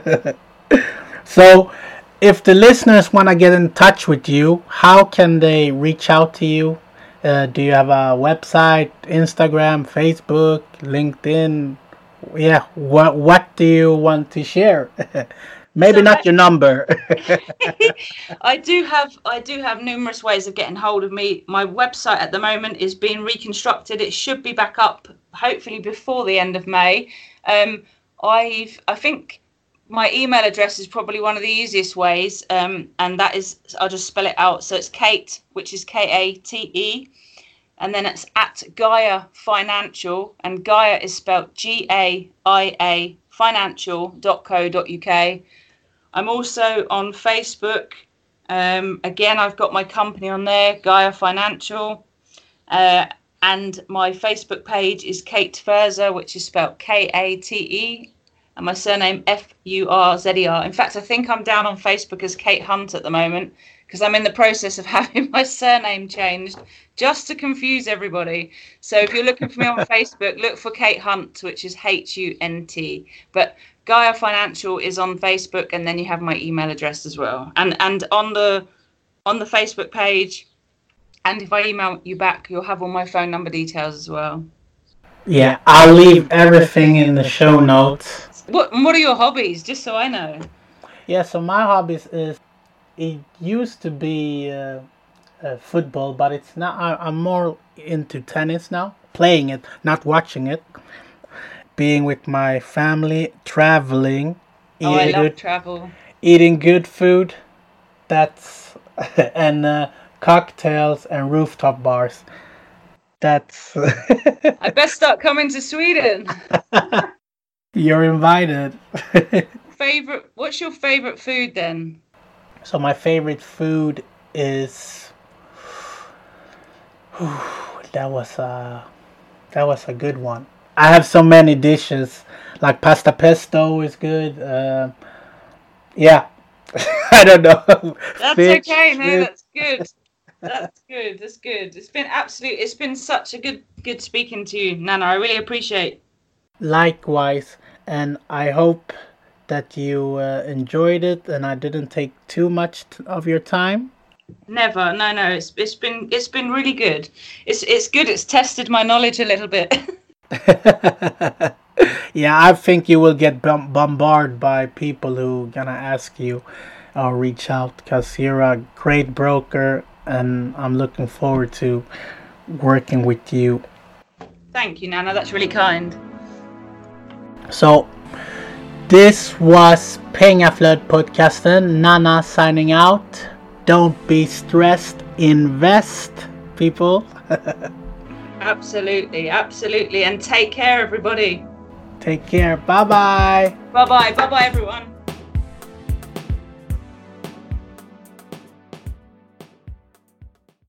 So, if the listeners want to get in touch with you, how can they reach out to you? Do you have a website, Instagram, Facebook, LinkedIn? Yeah, what do you want to share? Maybe not your number. I do have numerous ways of getting hold of me. My website at the moment is being reconstructed. It should be back up hopefully before the end of May. I think my email address is probably one of the easiest ways, and that is, I'll just spell it out. So it's Kate, which is Kate, and then it's at Gaia Financial, and Gaia is spelled GAIA financial.co.uk. I'm also on Facebook. Again, I've got my company on there, Gaia Financial, and my Facebook page is Kate Ferzer, which is spelled Kate, and my surname Furzer. In fact, I think I'm down on Facebook as Kate Hunt at the moment because I'm in the process of having my surname changed just to confuse everybody. So if you're looking for me on Facebook, look for Kate Hunt, which is Hunt. But Gaia Financial is on Facebook, and then you have my email address as well. And on the Facebook page, and if I email you back, you'll have all my phone number details as well. Yeah, I'll leave everything in the show notes. What are your hobbies, just so I know? Yeah, so my hobbies is, it used to be football, but it's not. I'm more into tennis now, playing it, not watching it. Being with my family, traveling, I love travel. Eating good food, that's and cocktails and rooftop bars. That's. I best start coming to Sweden. You're invited. What's your favorite food then? So my favorite food is. That was a good one. I have so many dishes, like pasta pesto is good. Yeah, I don't know. That's fish, okay. No, that's good. That's good. That's good. It's been such a good speaking to you, Nana. I really appreciate. Likewise, and I hope that you enjoyed it, and I didn't take too much of your time. Never. No. It's been really good. It's good. It's tested my knowledge a little bit. Yeah, I think you will get bombarded by people who gonna ask you or reach out, because you're a great broker, and I'm looking forward to working with you. Thank you, Nana. That's really kind. So, this was Pengaflöd podcasten. Nana signing out. Don't be stressed. Invest, people. Absolutely. And take care, everybody. Take care. Bye-bye. Bye-bye, everyone.